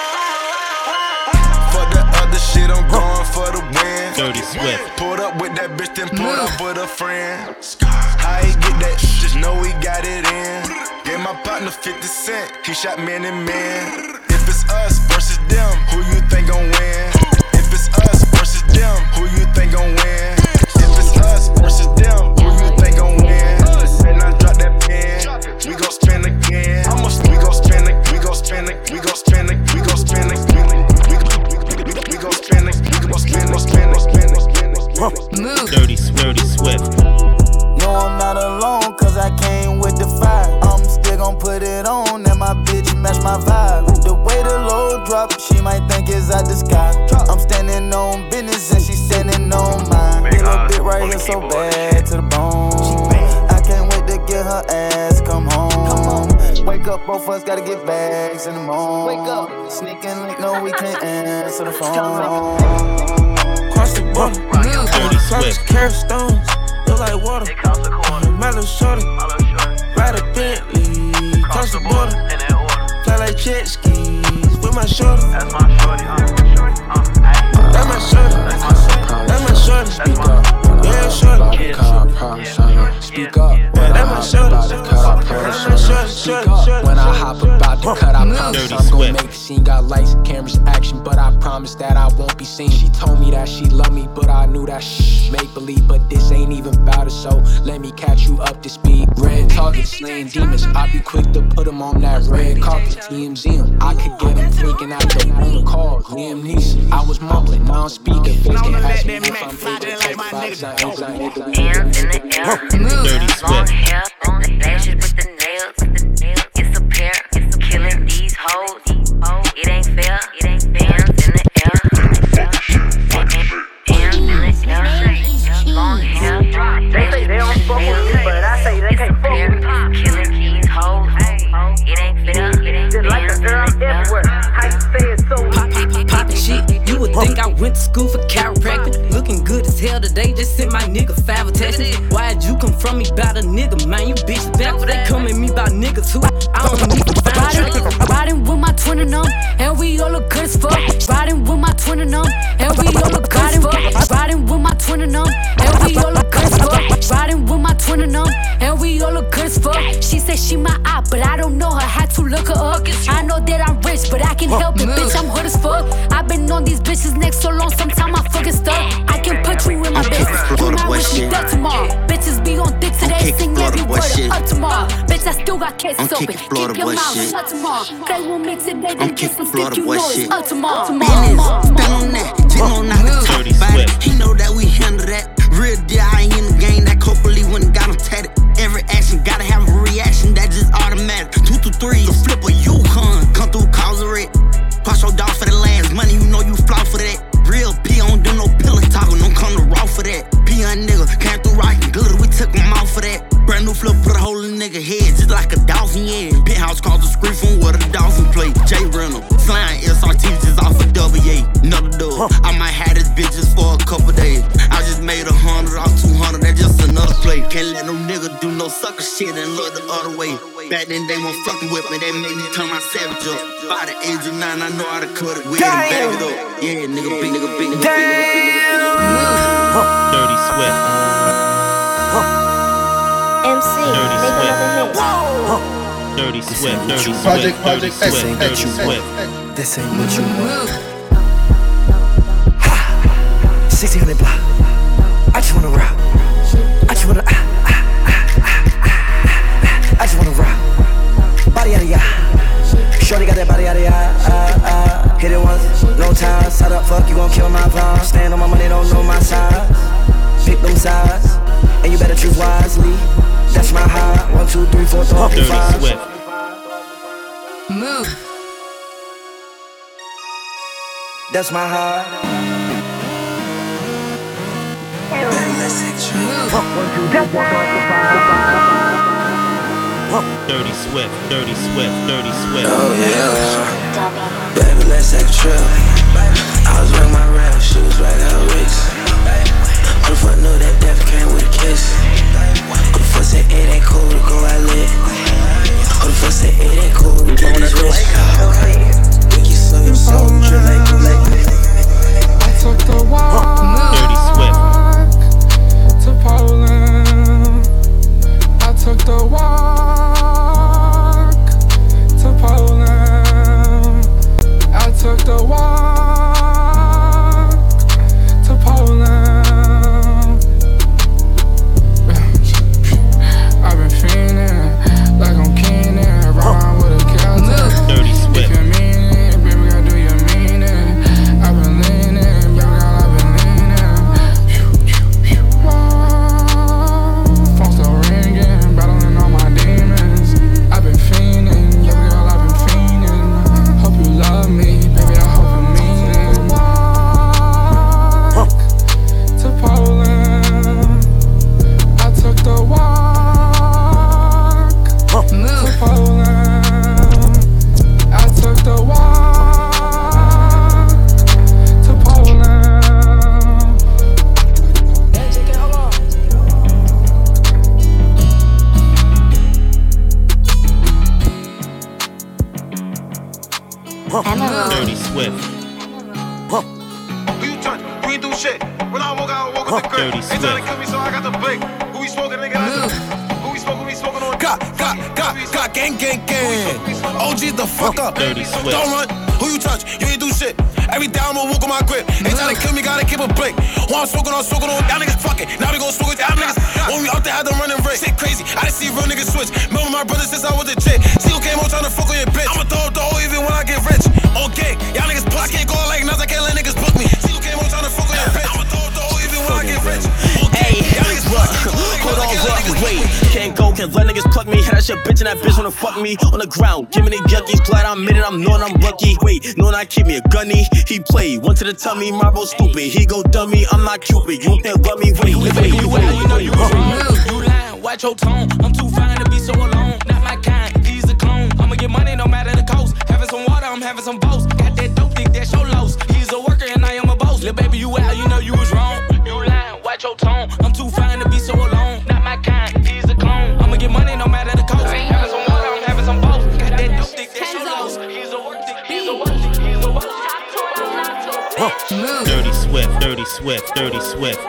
For the other shit, I'm going for the win. Dirty Swift. Pulled up with that bitch, then pulled up with a friend. How he get that? Just know he got it in. Gave my partner 50 cent. He shot man and man. If it's us versus them, who you think gon' win? If it's us versus them, who you think gon' win? If it's us versus them, who you think gon' win? And I drop that pen. We gon' spin again. We gon' spin again. We gon' spin again. We gon' spin again. We gon' spin again. We gon' spin again. We gon' spin Dirty Swift. No, I'm not alone, cause I came with the fire. I'm still gon' put it on, and my bitch match my vibe. The way the load drop, she might think it's out the sky. I'm standing on business, and she standing on mine. Little bit right here so bad to the bone. I can't wait to get her ass, come home. Wake up, both of us gotta get bags in the morning. Wake up, sneaking like no, we can't answer the phone. Cross the border, Dirty Swift. carrot stones, look like water. Mellow shorty, ride a Bentley, cross the border, fly like jet skis with my shorty. That's my shorty, That's my shorty, that's my shorty. Speak up, yeah, shorty. Speak up, that's my shorty. Speak up, when I hop about to cut, I promise I'm gon' make a scene. Got lights, cameras, action, but I promise that I won't be seen. She told me that she loved me, but I knew that make believe, but this ain't even about it, so let me catch you up to speed. Red target, slaying demons, I be quick to put them on that red carpet. TMZ him, I could get him freaking out the phone call. Liam Neeson, I was mumbling, now I'm speaking. Face can ask me if I'm able to take 5 seconds. Dirty Swift. Hair on the lashes with the nails. It's a pair. It's killing these hoes. It ain't fair. It ain't fair. In the air. Hands in the air. Long hair. They say they don't fuck with me, but I say they can't fuck with me. Killing these hoes. It ain't fair. It ain't fair. Just like a girl everywhere. How you say it so? Poppin' shit, you would think I went to school for chiropractic. Looking good as hell today, just sent my nigga 5 attachments. Why'd you come from me about a nigga, man? You bitches back, they come at me about niggas who I don't need to find. Riding with my twin and them, and we all look good as fuck. Riding with my twin and them, and we all look good as fuck. Riding with my twin and them, and we all look good as fuck. Riding with my twin and them, and we all look good as fuck. She said she my op, but I don't know her, had to look her up. I know that I'm rich, but I can help it, bitch, I'm hood as fuck. I've been on these bitches neck so long, sometimes I fucking stuck. I can put you in my business, you might wish me dead tomorrow. Bitches be on dick today, sing every word up tomorrow. Bitch, I still got cases open, keep your mouth shut tomorrow. Play with me today, then get some stick, you know it's up tomorrow. Business, stand on that, just know not to talk about it. He know that we handle that. Real deal, I ain't in the game, that Copley when it got him tatted. Every action, gotta have a reaction, that just automatic. 2 to 3, the flip a Yukon, come through, cause a wreck. shit and look the other way. Back then they weren't fucking with me, they made me turn my savage up. By the age of 9, I know how to cut it with and back it up. Yeah, nigga, big, nigga, big, nigga, big, nigga, big, nigga, big, nigga. Dirty Swift. MC, Dirty make Swift. another hit. Dirty Swift, Dirty Swift, Project Dirty Swift, Dirty Swift. This ain't what you want. 1600 block. I just wanna rock. I just wanna I just wanna rock. Body out of ya. Shorty got that body out of ya. Hit it once, no time. Side up, fuck, you gon' kill my vibe. Stand on my money, don't know my size. Pick them sides, and you better choose wisely. That's my high. 1, 2, 3, 4, 5. Dirty Swift. Move. That's my high. Dirty Swift, Dirty Swift, Dirty Swift. Oh yeah, baby, let's take a trip. I was wearing my rap shoes right out of Wicks. Who the fuck knew that death came with a kiss? Who the fuck said it ain't cool to go out lit? Who the fuck said it ain't cool to get this rich? Wiki so you so drip like Kool-Aid. I took the walk Dirty Swift. to Poland. I took the walk to Poland. I took the walk to Poland. I've been fiending like I'm Keenan, around with a Celtic. Dirty Swift. If you mean it, baby, I do you mean it. I've been leaning, baby girl, I've been leaning. Phone still ringing, battling all my demons. I've been fiending, baby girl, I've been fiending. Hope you love me, baby, I hope you mean it. Walk to Poland. I took the walk to Poland. I took the walk to Poland. Dirty Swift. Who you touch? You ain't do shit. When I woke out, I woke up the crib. Dirty They tryna Swift. kill me, so I got the blick. Who we smoking, nigga? Who we smoking? We smoking on. Got, gang. OG's the fuck up. Dirty Swift. Don't run. Who you touch? You ain't do shit. Every day I'ma walk on my grip. They tryna kill me, gotta keep a blick. Who I'm smoking on, y'all niggas fucking. Now we gon' smoke with y'all niggas. When we out there, had them running race. Shit crazy. I done see real niggas switch. Remember my brother since I was a chick. See who came home tryna fuck on your bitch. I'ma throw the hole even when I get rich. On gang, y'all niggas plot. I can't go like nuts, I can't let niggas book me. See who came home tryna fuck on your bitch. I'ma throw the hole even when I get rich. Hey, hold on, wait. Can't go, can't let niggas pluck me. Had that shit bitch and that bitch wanna fuck me on the ground. Give me the yuckies, glad I'm in it, I'm knowing I'm lucky. Wait, knowing I keep me a gunny. He played, one to the tummy, my bro stupid. He go dummy, I'm not Cupid. You can't rub me, wait. You know you wrong. You lying, watch your tone. I'm too fine to be so alone. Not my kind, he's a clone. I'ma get money no matter the cost. Having some water, I'm having some boats. Got that dope dick, that's your loss. He's a worker and I am a boss. Lil' baby, you out, you know you was wrong. You lying, watch your tone. I'm too fine to be so alone. Not my kind, he's a clone. I'ma get money no matter the cost. Having some water, I'm having some boats. Got that dope dick, that's your loss. He's a worker, he's a worker, he's a worker. Dirty Swift, Dirty Swift, Dirty Swift.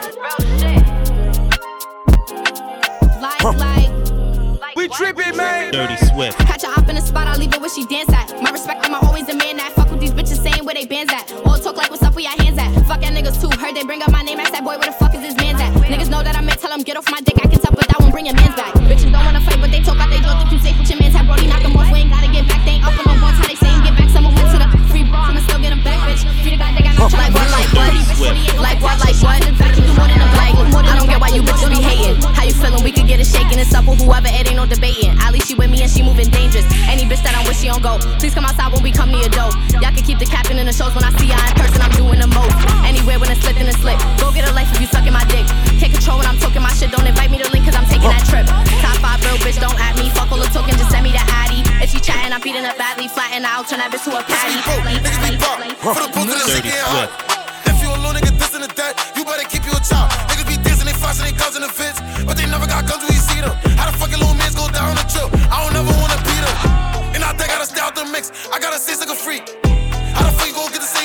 We trippin', man. Dirty Swift. Catch her up in the spot, I leave it where she dance at. My respect, I'm always the man that fuck with these bitches saying where they bands at. All talk like what's up, where your hands at. Fuck y'all niggas too. Heard they bring up my name, ask that boy where the fuck is his man's at. Niggas know that I'm in, tell him get off my dick. I can tell, but that one bring your man's back. Bitches don't wanna fight, but they talk out they door. Think you safe with your man's hat, Brody knock 'em off. We ain't gotta get back, they ain't up on no ones. How they saying get back, someone went to the free bra. I'ma still get 'em back, bitch. Free the guy, they got no try. Like what? Like what? Like what? Like what? I can do more than a black. I don't get why you bitches be hating. How you feeling? We could get it shaking. It's up with whoever, it ain't no debating. At least she with me and she moving dangerous. Any bitch that I'm with, she don't go. Please come outside when we come near your door. Y'all can keep the capping in the shows when I see her in person. I'm doing the most. Anywhere when it's slipped in a slip. Go get a life if you sucking my dick. Can't control when I'm talking my shit. Don't invite me to link cause I'm taking that trip. Top 5 real bitch, don't at me. Fuck all the talking, just send me the addy. If she chatting, I'm beating her badly. Flatten out, turn that bitch to a patty. For the book of the shit getting hot. If you a little nigga dissing the dead, you better keep you a child. Niggas be dissing, they flashing, they guns in the fence. But they never got guns when you see them. How the fucking little mans go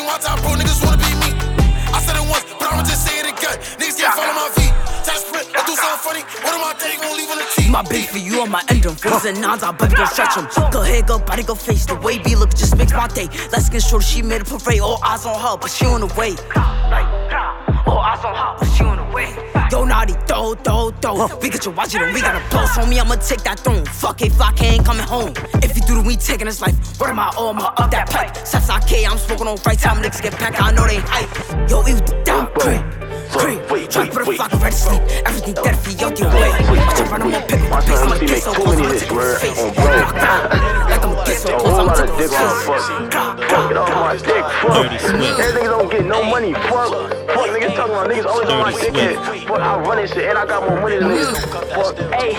ain't my time, bro. Niggas wanna be me. I said it once, but I'ma just say it again. Niggas can't follow my feet. Try to sprint, I do something funny. What am I thinking? Gon' leave on the cheek. My beef for you on my end them. Fours and nines, I'll baby go stretch them. Go ahead, go body, go face. The way B look just makes my day. Let's get short, she made a parade. All eyes on her, but she on the way. All eyes on her, but she on the way. Yo, naughty, throw. We get your watch it and we got a boss on me, I'ma take that throne. Fuck it, Flock ain't coming home. If you do the we taking his life, what am I all my up that pipe? Steps I K, I'm smoking on right time, niggas get back, I know they hype. Yo, it was down, creep. Try to put a fucking red to sleep. Everything dead for you, out your way. Watch you run, I'm on pick up the pace. I'ma get so close, I'ma take his face. Like I'ma get so close, I'ma take his face. Fucking on my dick, fuck. Everything don't get no money, fuck. Fuck, niggas talking about niggas always on my dick. Fuck, I run this shit and I got more money than niggas. Fuck, hey,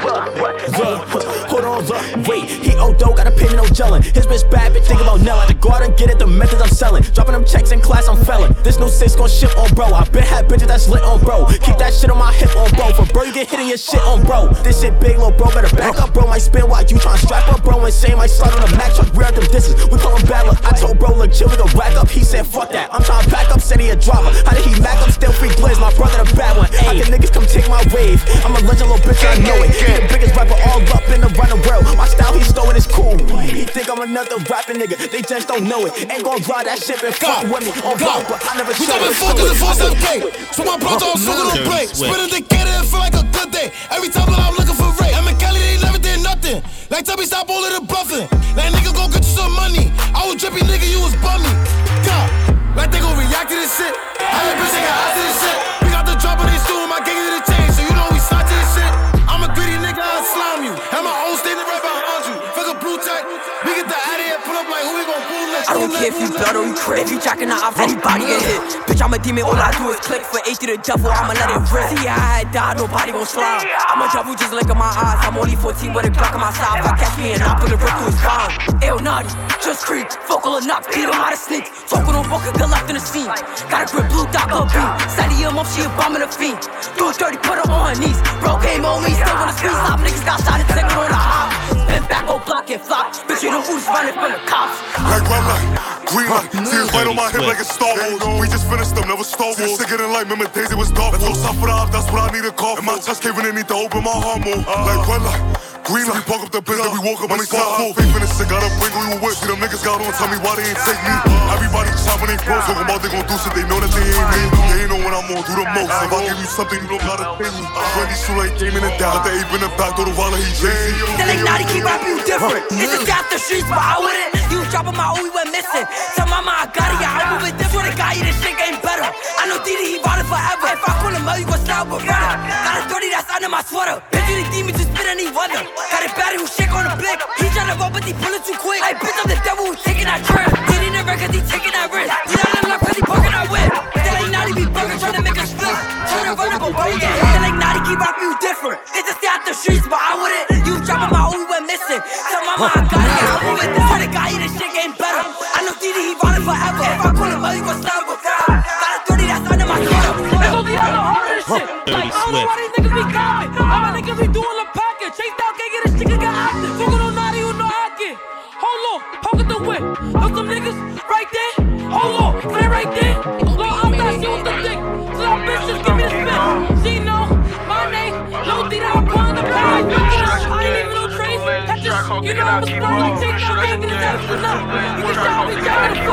hold on, wait. He dough, got a pay me no gelling. His bitch bad, bitch, think about Nella. To go out and get it, the methods I'm selling. Dropping them checks in class, I'm felon. This new 6 gon' ship on bro. I been had bitches that's lit on bro. Keep that shit on my hip on bro. For bro, you get hit in your shit on bro. This shit big, little bro, better back up, bro. Might spin while you tryna strap up, bro. Insane, might slide on the Mac truck, rear them disses. We call him bad luck. I told bro, look, chill, we gon' rack up. He said, fuck that. I'm tryna back up, said he a driver. How did he mac up? Still free blizz, my brother the bad one. How can niggas come take my wave? I'm a legend, little bitch, I know it. He the biggest rapper all up in the running world. My style, he stole it, it's cool. He think I'm another rapping nigga. They just don't know it. Ain't gon' drive that shit and fuck with me on block, but I never show it. We focus and force that game. So my bro don't smoke on play. Spinning the kid and feel like a good day. Every time that I'm looking for Ray. I'm in Cali, they never did nothing. Like tell me stop all of the bluffing. Like nigga go get you some money. I was drippy nigga, you was bummy. God, like they gon' react to this shit. I ain't bitch, they got eyes to this shit. We got the drop on these two, my gang to the chain. So you know we slide to this shit. I'm a greedy nigga, I'll slime you. Have my own standing right behind you. Fuck a blue tech. We get the out of here, pull up like who we gon' pull next. I don't care if you blood or you crib. If you jacking out, anybody get hit. Bitch, I'm a demon, all I do is click. For H to the devil, I'ma let it rip. See, I had died, nobody gon' slide. I'm a devil, just look at my eyes. I'm only 14 with a Glock on my side. If I catch me and I put a rip through his spine. Ew, naughty, just creep. Focal enough, beat him out of sneak. Focal on Boca, good left in the scene. Got a grip, blue dot, good beat. Steady him up, she a bomb in the fiend. Do it dirty, put her on her knees. Bro came on me, still wanna squeeze. Stop, niggas got shot and taking on the hop. Been back, go block and flop. Bitch, you know who's running from the cops. Like red light, green light, see his light on my hip like it's Star Wars. We just finished them, never Star Wars. Sicker than light, remember days it was dark. Let's go south for the op, that's what I need a call. And my chest caving in, need to open my heart more. Like red light, green light, park up the biz that we woke up on the spot full. Faith in the shit, gotta bring who you with. See them niggas got on, tell me why they ain't take me. Everybody chopping they pros, talking about they gon' do shit, they know that they ain't me. They ain't know when I'm on, do the most. If I give you something, you don't gotta pay me. Brandy shoe like game in the down, the ape in the back, throw the wallet, he Jay-Z. They like naughty, keep rapping you different. It's just out the streets, but I wouldn't. You was dropping my O, we went missing. Tell mama I got it, yeah, I move it different. The guy, this shit ain't better. I know Didi, he bought it forever. If I call him out, you gon' style with runner. Got a 30 that's under my sweater. Bitch, you the demon, just spit any weather. Got it bad, who shake on the blick. He tryna roll, but he pullin' too quick. Hey, bitch, I'm the devil who's taking that trip. Didi never cause he taking that risk. We down in love cause he poking that whip. They like naughty, be bugging, tryna make a split. Tryna run up a boat, yeah. They like naughty, keep rapping you different. It's just out the streets, but I wouldn't. You dropping my O, we went missing. Tell mama I got it, yeah, I move it different. The guy, this shit ain't better. I know Didi, he bought it forever. If I call him out, you gon' style with fire. Got a 30 that's under my sweater. They gon' be on the hardest shit. Like, I don't know why these niggas be copping. All my niggas be doing the packet. Chase down, can't get this nigga got active. Fuckin' on naughty, you know I get. Hold on, poke the whip. Know some niggas right there? Hold on, play right there. Low, I'm not shit with the dick. So that bitch just give me the spit. She know my name. Low D, I'm pulling the bag. I ain't even no trace. That's just, you know I'm a star. Like, Chase down, can't get his ass enough. You can shout me down the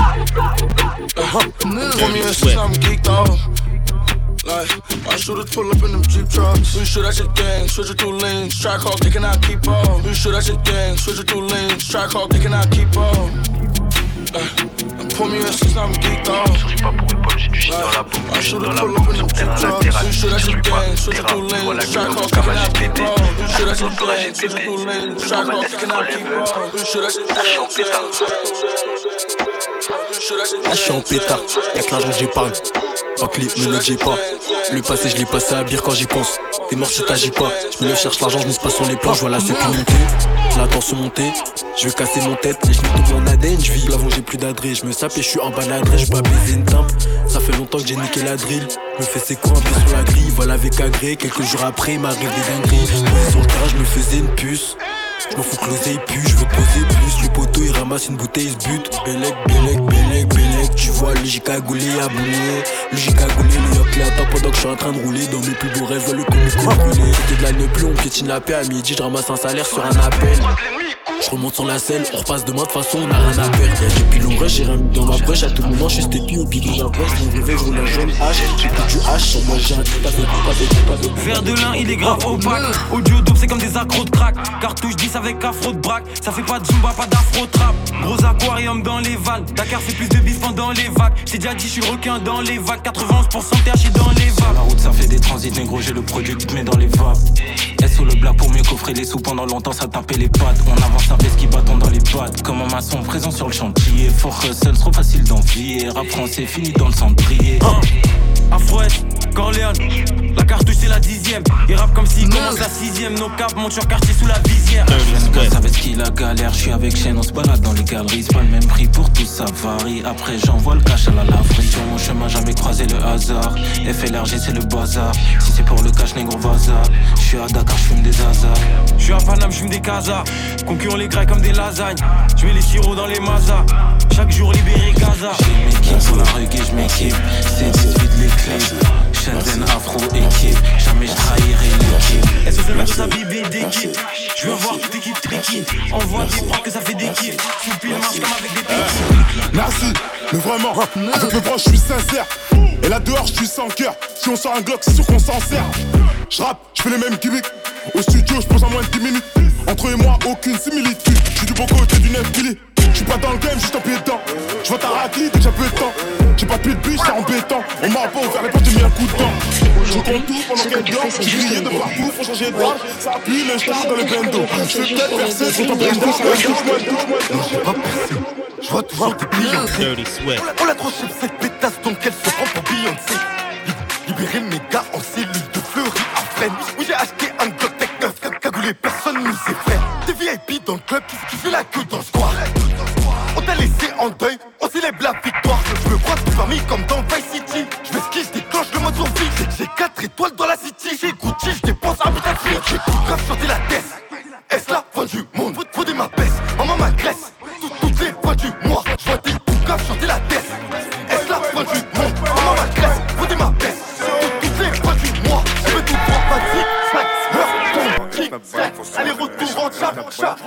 block. Pour me in since I'm geeked off. Like, my shooters pull up in them Jeep trucks. We shoot at your gang, switch it through lanes. Track hawk, they cannot keep up. We shoot at your gang, switch it through lanes. Track hawk, they cannot keep up. Pour me in since I'm geeked off. Like, my shooters pull up in them Jeep trucks. We shoot at your gang, switch it through lanes. Track hawk, they cannot keep up. We shoot at your gang, switch it through lanes. Track hawk, they cannot keep up. We shoot at your gang. Là je suis en pétard, y'a que l'argent que j'épargne. En clip, me le dis pas. Le passé, je l'ai passé à bière quand j'y pense. T'es mort si t'agis pas. Je me lève, cherche l'argent, je mise pas sur les plans. Je vois la sécu monter, la tension monter. Je veux casser mon tête, les genoux tout mon ADN. Je vis l'avant, j'ai plus d'adresse. Je me sape et je suis en bas d'adresse. Je pas baiser une timpe. Ça fait longtemps que j'ai niqué la drill. Me fais ses coups un peu sur la grille. Voilà avec agré. Quelques jours après, il m'arrive des dingueries. Sur le terrain, je me faisais une puce. Je m'en fous que l'oseille pue, je veux poser plus. Le poteau il ramasse une bouteille, il se bute. Bélec, bélec, bélec, bélec. j'ai cagoulé à bouler. Lui j'ai cagoulé, le yoke là attend pendant que je suis en train de rouler. Dans mes plus beaux rêves, le comico brûlé. C'était de la plus, on piétine la paix à midi, je ramasse un salaire sur un appel. Je remonte sur la selle, on repasse demain de façon on a rien à perdre. Y'a des pilons rush, j'ai rien mis dans ma brèche. À tout moment je suis stépi au bidon d'un brèche. Mon réveil je roule un jaune H, j'ai plus du H. Sur moi j'ai un tout à fait. Verre de lin il est grave opaque. Audio dope c'est comme des accros de crack. Cartouche 10 avec afro de braque. Ça fait pas de zumba, pas d'afro trap. Gros aquarium dans les vannes. Dakar fait plus de bif pendant les vagues. J'ai déjà dit je suis le requin dans les vagues. 91% THC dans les vagues. Sur la route ça fait des transits, négro j'ai le produit qui te met dans les vapes. SO le black pour mieux coffrer les sous. Pendant longtemps ça tapait les pattes. On avance un qui bâton dans les pattes. Comme un maçon présent sur le chantier. Fort hustle, trop facile d'envier. Rap français fini dans le cendrier. Afro-Est, Corleone. La cartouche c'est la 10ème. Il rappe comme s'il commence la 6ème. Nos caps montent sur quartier sous la visière. Jeune gosse avec ce qu'il a galère. Je suis avec Shane, on se balade dans les galeries. C'est pas le même prix pour tout, ça varie. Après j'envoie le cash à la laverie. Sur mon chemin jamais croisé le hasard. FLRG c'est le bazar. Si c'est pour le cash négro vaza. Je suis à Dakar, je fume des hasards. Je suis à Paname, je fume des casas. Concurrents les grecs comme des lasagnes. Je mets les sirops dans les mazas. Chaque jour libéré Gaza. J'ai mes kings pour la reggae, je m'équipe. C'est 18 les clés. Shenzhen Afro équipe. Jamais je trahirai l'équipe. Est-ce que c'est sa bibi d'équipe? Je veux voir toute équipe tricky. Envoie des bras que ça fait des kiffs. Soupi le marche comme avec des pics. Merci, mais vraiment, avec mes proches je suis sincère. Et là dehors je suis sans cœur. Si on sort un Glock c'est sûr qu'on s'en sert. Je rappe, je fais les mêmes gimmicks. Au studio je pose en moins de 10 minutes. Entre eux et moi aucune similitude. Je suis du bon côté du 9 pili. Je suis pas dans le game, juste un pied dedans. Je vois ta raclée dès que j'ai peu de temps. J'ai pas de pied de biche, c'est embêtant. On m'a pas ouvert les portes, j'ai mis un coup de temps. Je compte tout pendant qu'elle dort. J'ai grillé de partout, faut changer de droite. Ça appuie le star dans le bendo. Je vais peut-être percer sur ton bendo. J'ai pas percé, je vois toujours des Beyoncé. On l'a trop chef cette pétasse donc elle se prend pour Beyoncé. Libérer mes gars en cellule de Fleury à Fresnes. Où j'ai acheté un Glock Tech 9 cagoulé, personne nous sait faire. Des VIP dans le club qui fait la queue dans le square. On t'a laissé en deuil, on célèbre la victoire. Je me croise toute famille comme dans Vice City. Je m'esquive, je déclenche le mode survie. J'ai 4 étoiles dans la city. J'ai Gucci, je dépense un putain de fric. J'ai tout grave chanter la tête. Est-ce la fin du monde? Faut des ma baisse, maman m'agresse. Toutes les fois du mois, je vois des tout grave chanter la tête. Est-ce la fin du monde? Maman m'agresse, faut des ma baisse. Toutes les fois du mois, je veux tout droit, vas-y. Allez, retour en chat,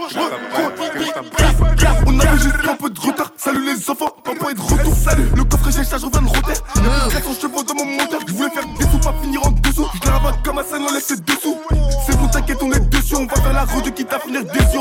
on avait juste un peu de retard. Salut les enfants, papa est de retour. Salut, le coffre j'ai charge, on vient de roter. Y'a 400 chevaux dans mon moteur. Je voulais faire des sous, pas finir en dessous. Je les rabats comme un scène, on laisse dessous. C'est bon, t'inquiète, on est dessus. On va faire la route quitte à finir déçu.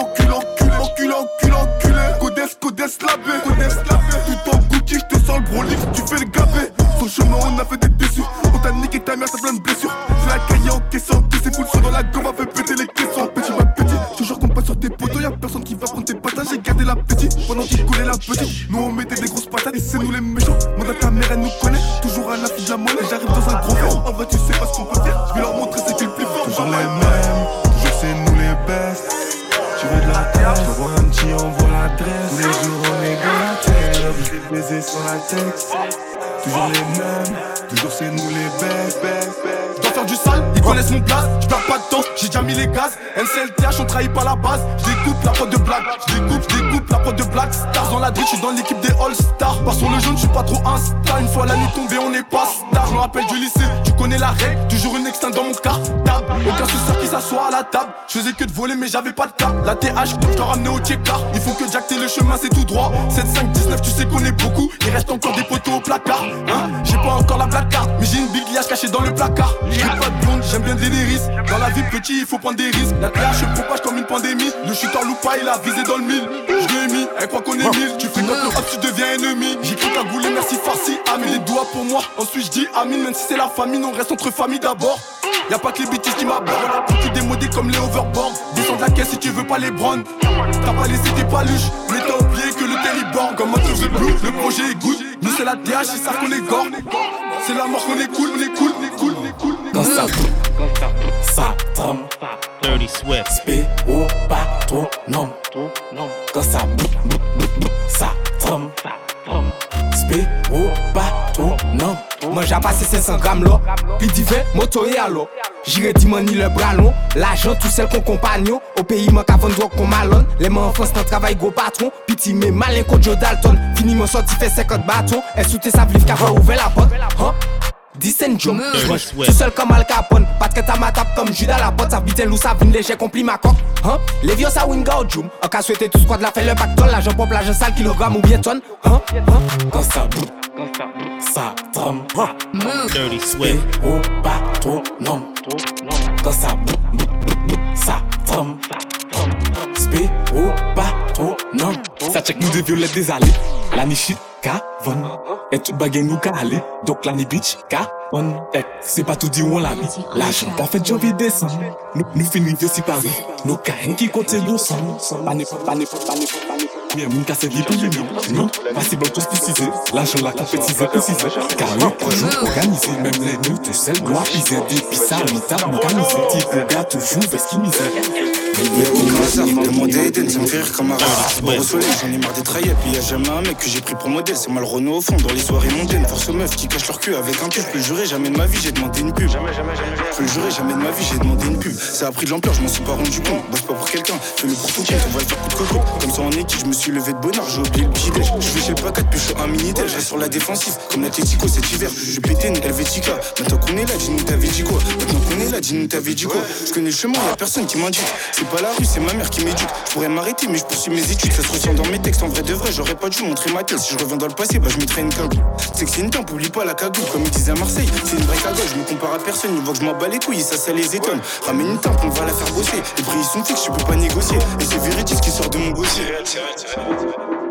Enculé. Codes, labé. Tout en Gucci, je te sens le brolic, tu fais le gabé. Son chemin, on a fait des déçus. On t'a niqué ta mère, ça plein de blessures. C'est la cahier en caissant, tous ces foules sont dans la gomme, on fait péter les caissons. Petit ma petit, toujours qu'on passe sur tes poteaux, y'a personne qui va prendre tes patates. J'ai gardé l'appétit pendant qu'il collait la petite. Nous on mettait des grosses patates et c'est nous les méchants. Moi ta mère elle nous connaît, toujours à la fille de la monnaie. J'arrive dans un gros verre, en vrai tu sais pas ce qu'on peut faire. Je vais leur montrer c'est qui le plus fort. Toujours les mêmes, toujours c'est nous les best. Tu veux de la tête, je vois un petit, envoie l'adresse. Tous les jours on est dans la tête, obligé de baiser sur la texte. Toujours les mêmes, toujours c'est nous les best. Je dois faire du sale, ils connaissent mon place. Je perds pas de temps, j'ai déjà mis les gaz. NCLTH, on trahit pas la base. Je découpe la prod de blague. Je découpe la prod de blague. Stars dans la drill, je suis dans l'équipe des All-Stars. Par sur le jaune, je suis pas trop insta. Une fois la nuit tombée, on est pas star. Je me rappelle du lycée, tu connais la règle. Toujours une extinct dans mon cartable. Aucun suceur qui s'assoit à la table. Je faisais que de voler, mais j'avais pas de cap. La TH, je dois ramener au check-car. Il faut que Jack t'aies le chemin, c'est tout droit. 7, 5, 19, tu sais qu'on est beaucoup. Il reste encore des poteaux au placard. Hein, j'ai pas encore la black card, mais j'ai une big liasse cachée dans le placard. J'ai pas de blonde, j'aime bien Daenerys. Dans la vie petit, il faut prendre des risques. La TH se propage comme une pandémie. Le shooter loupe pas, il a visé dans le mille. Je l'ai mis, elle croit qu'on est mille. Tu fais comme le hop, tu deviens ennemi. J'ai cru cagoulé, merci farci. Amine les doigts pour moi. Ensuite je dis Amine, même si c'est la famille, on reste entre famille d'abord. Y'a pas que les bêtises qui m'abordent. Pour qui démodés comme les overboard. Descends de la caisse si tu veux pas les brands. T'as pas laissé tes paluches, mais t'as oublié que le téléborn. Comme un truc bleu, le projet est good. Nous c'est la TH, ils savent qu'on est gore. C'est la mort qu'on est cool, on est cool. Quand ça tremble. Dirty Swift. Spé au patronum. Quand ça tremble. Spé au patronum. Moi j'ai passé 500 grammes là. Puis divin, moto et allo. J'irai dimani le bras long, l'argent tout seul qu'on compagnon. Au pays manque avant de drogue qu'on malonne. Les mains en France dans travail gros patron. Piti mais malin contre Joe Dalton. Fini mon sorti fait 50 bâtons. Elle sous tes sablives qu'a fait ouvrir la porte. Dicen Jom, tout seul comme Al Capone. Pas de ta matap comme Judas la porte. Ça vite loup, ça vine léger, compli ma coque. Les vieux ça wing out Jum. En cas souhaité tout squad la fait le pactole. L'argent pop, l'argent sale, kilogramme ou bien tonne. Quand ça bout, ça tremble. Dirty Swift. Au patronum. Quand ça bout, ça tremble. Spé au patronum. Ça check nous des violettes des allées. La nichit, Kavon. Et toute baguette nous calé. Donc la ni bitch, Kavon. C'est pas tout dit où on l'a mis. L'argent qu'a fait janvier décembre. Nous finissons si Paris. Nos carènes qui comptent nous sommes. Pas mais mon casse vie pour non, pas si bon tous précisé. L'argent la compétition précisé. Car le projet organisé, même les nous tout seuls doivent piser. Depuis ça, l'État organisé. Type gars toujours vesquimisé. Le monde est Eden, ça me fait rire comme un rat. Bon au soleil, j'en ai marre des traillets. Puis y'a jamais un mec que j'ai pris pour modèle. C'est mal Renault au fond, dans les soirées mondaines. Force aux meufs qui cachent leur cul avec un tube. Je peux le jurer, jamais de ma vie j'ai demandé une pub. Je peux le jurer, jamais de ma vie j'ai demandé une pub. Ça a pris de l'ampleur, je m'en suis pas rendu compte. Bosse pas pour quelqu'un, fais le pour tout compte. On va le faire coup de coco. Comme ça en équipe, je me suis levé de bonheur, j'ai oublié le petit déj. Je vais chez le pacat, puis je suis un minitel. Je reste sur la défensive, comme l'Atletico cet hiver. Je pétais une Helvetica. Maintenant qu'on est là, dis-nous t'avais dit quoi. Maintenant qu'on est là, dis-nous t'avais dit quoi. Je connais le chemin, y'a personne qui m'indique. C'est pas la rue, c'est ma mère qui m'éduque. Je pourrais m'arrêter, mais je poursuis mes études. Ça se ressent dans mes textes, en vrai de vrai. J'aurais pas dû montrer ma tête. Si je reviens dans le passé, bah je mettrais une cagoule. C'est que c'est une tempe, oublie pas la cagoule. Comme ils disaient à Marseille, c'est une vraie cagoule. Je me compare à personne, ils voient que je m'en bats les couilles, ça les étonne. Ramène une tempe, on va la faire bosser. Les prix ils sont fixes, je peux pas négocier. Et c'est véridique ce qui sort de mon dossier.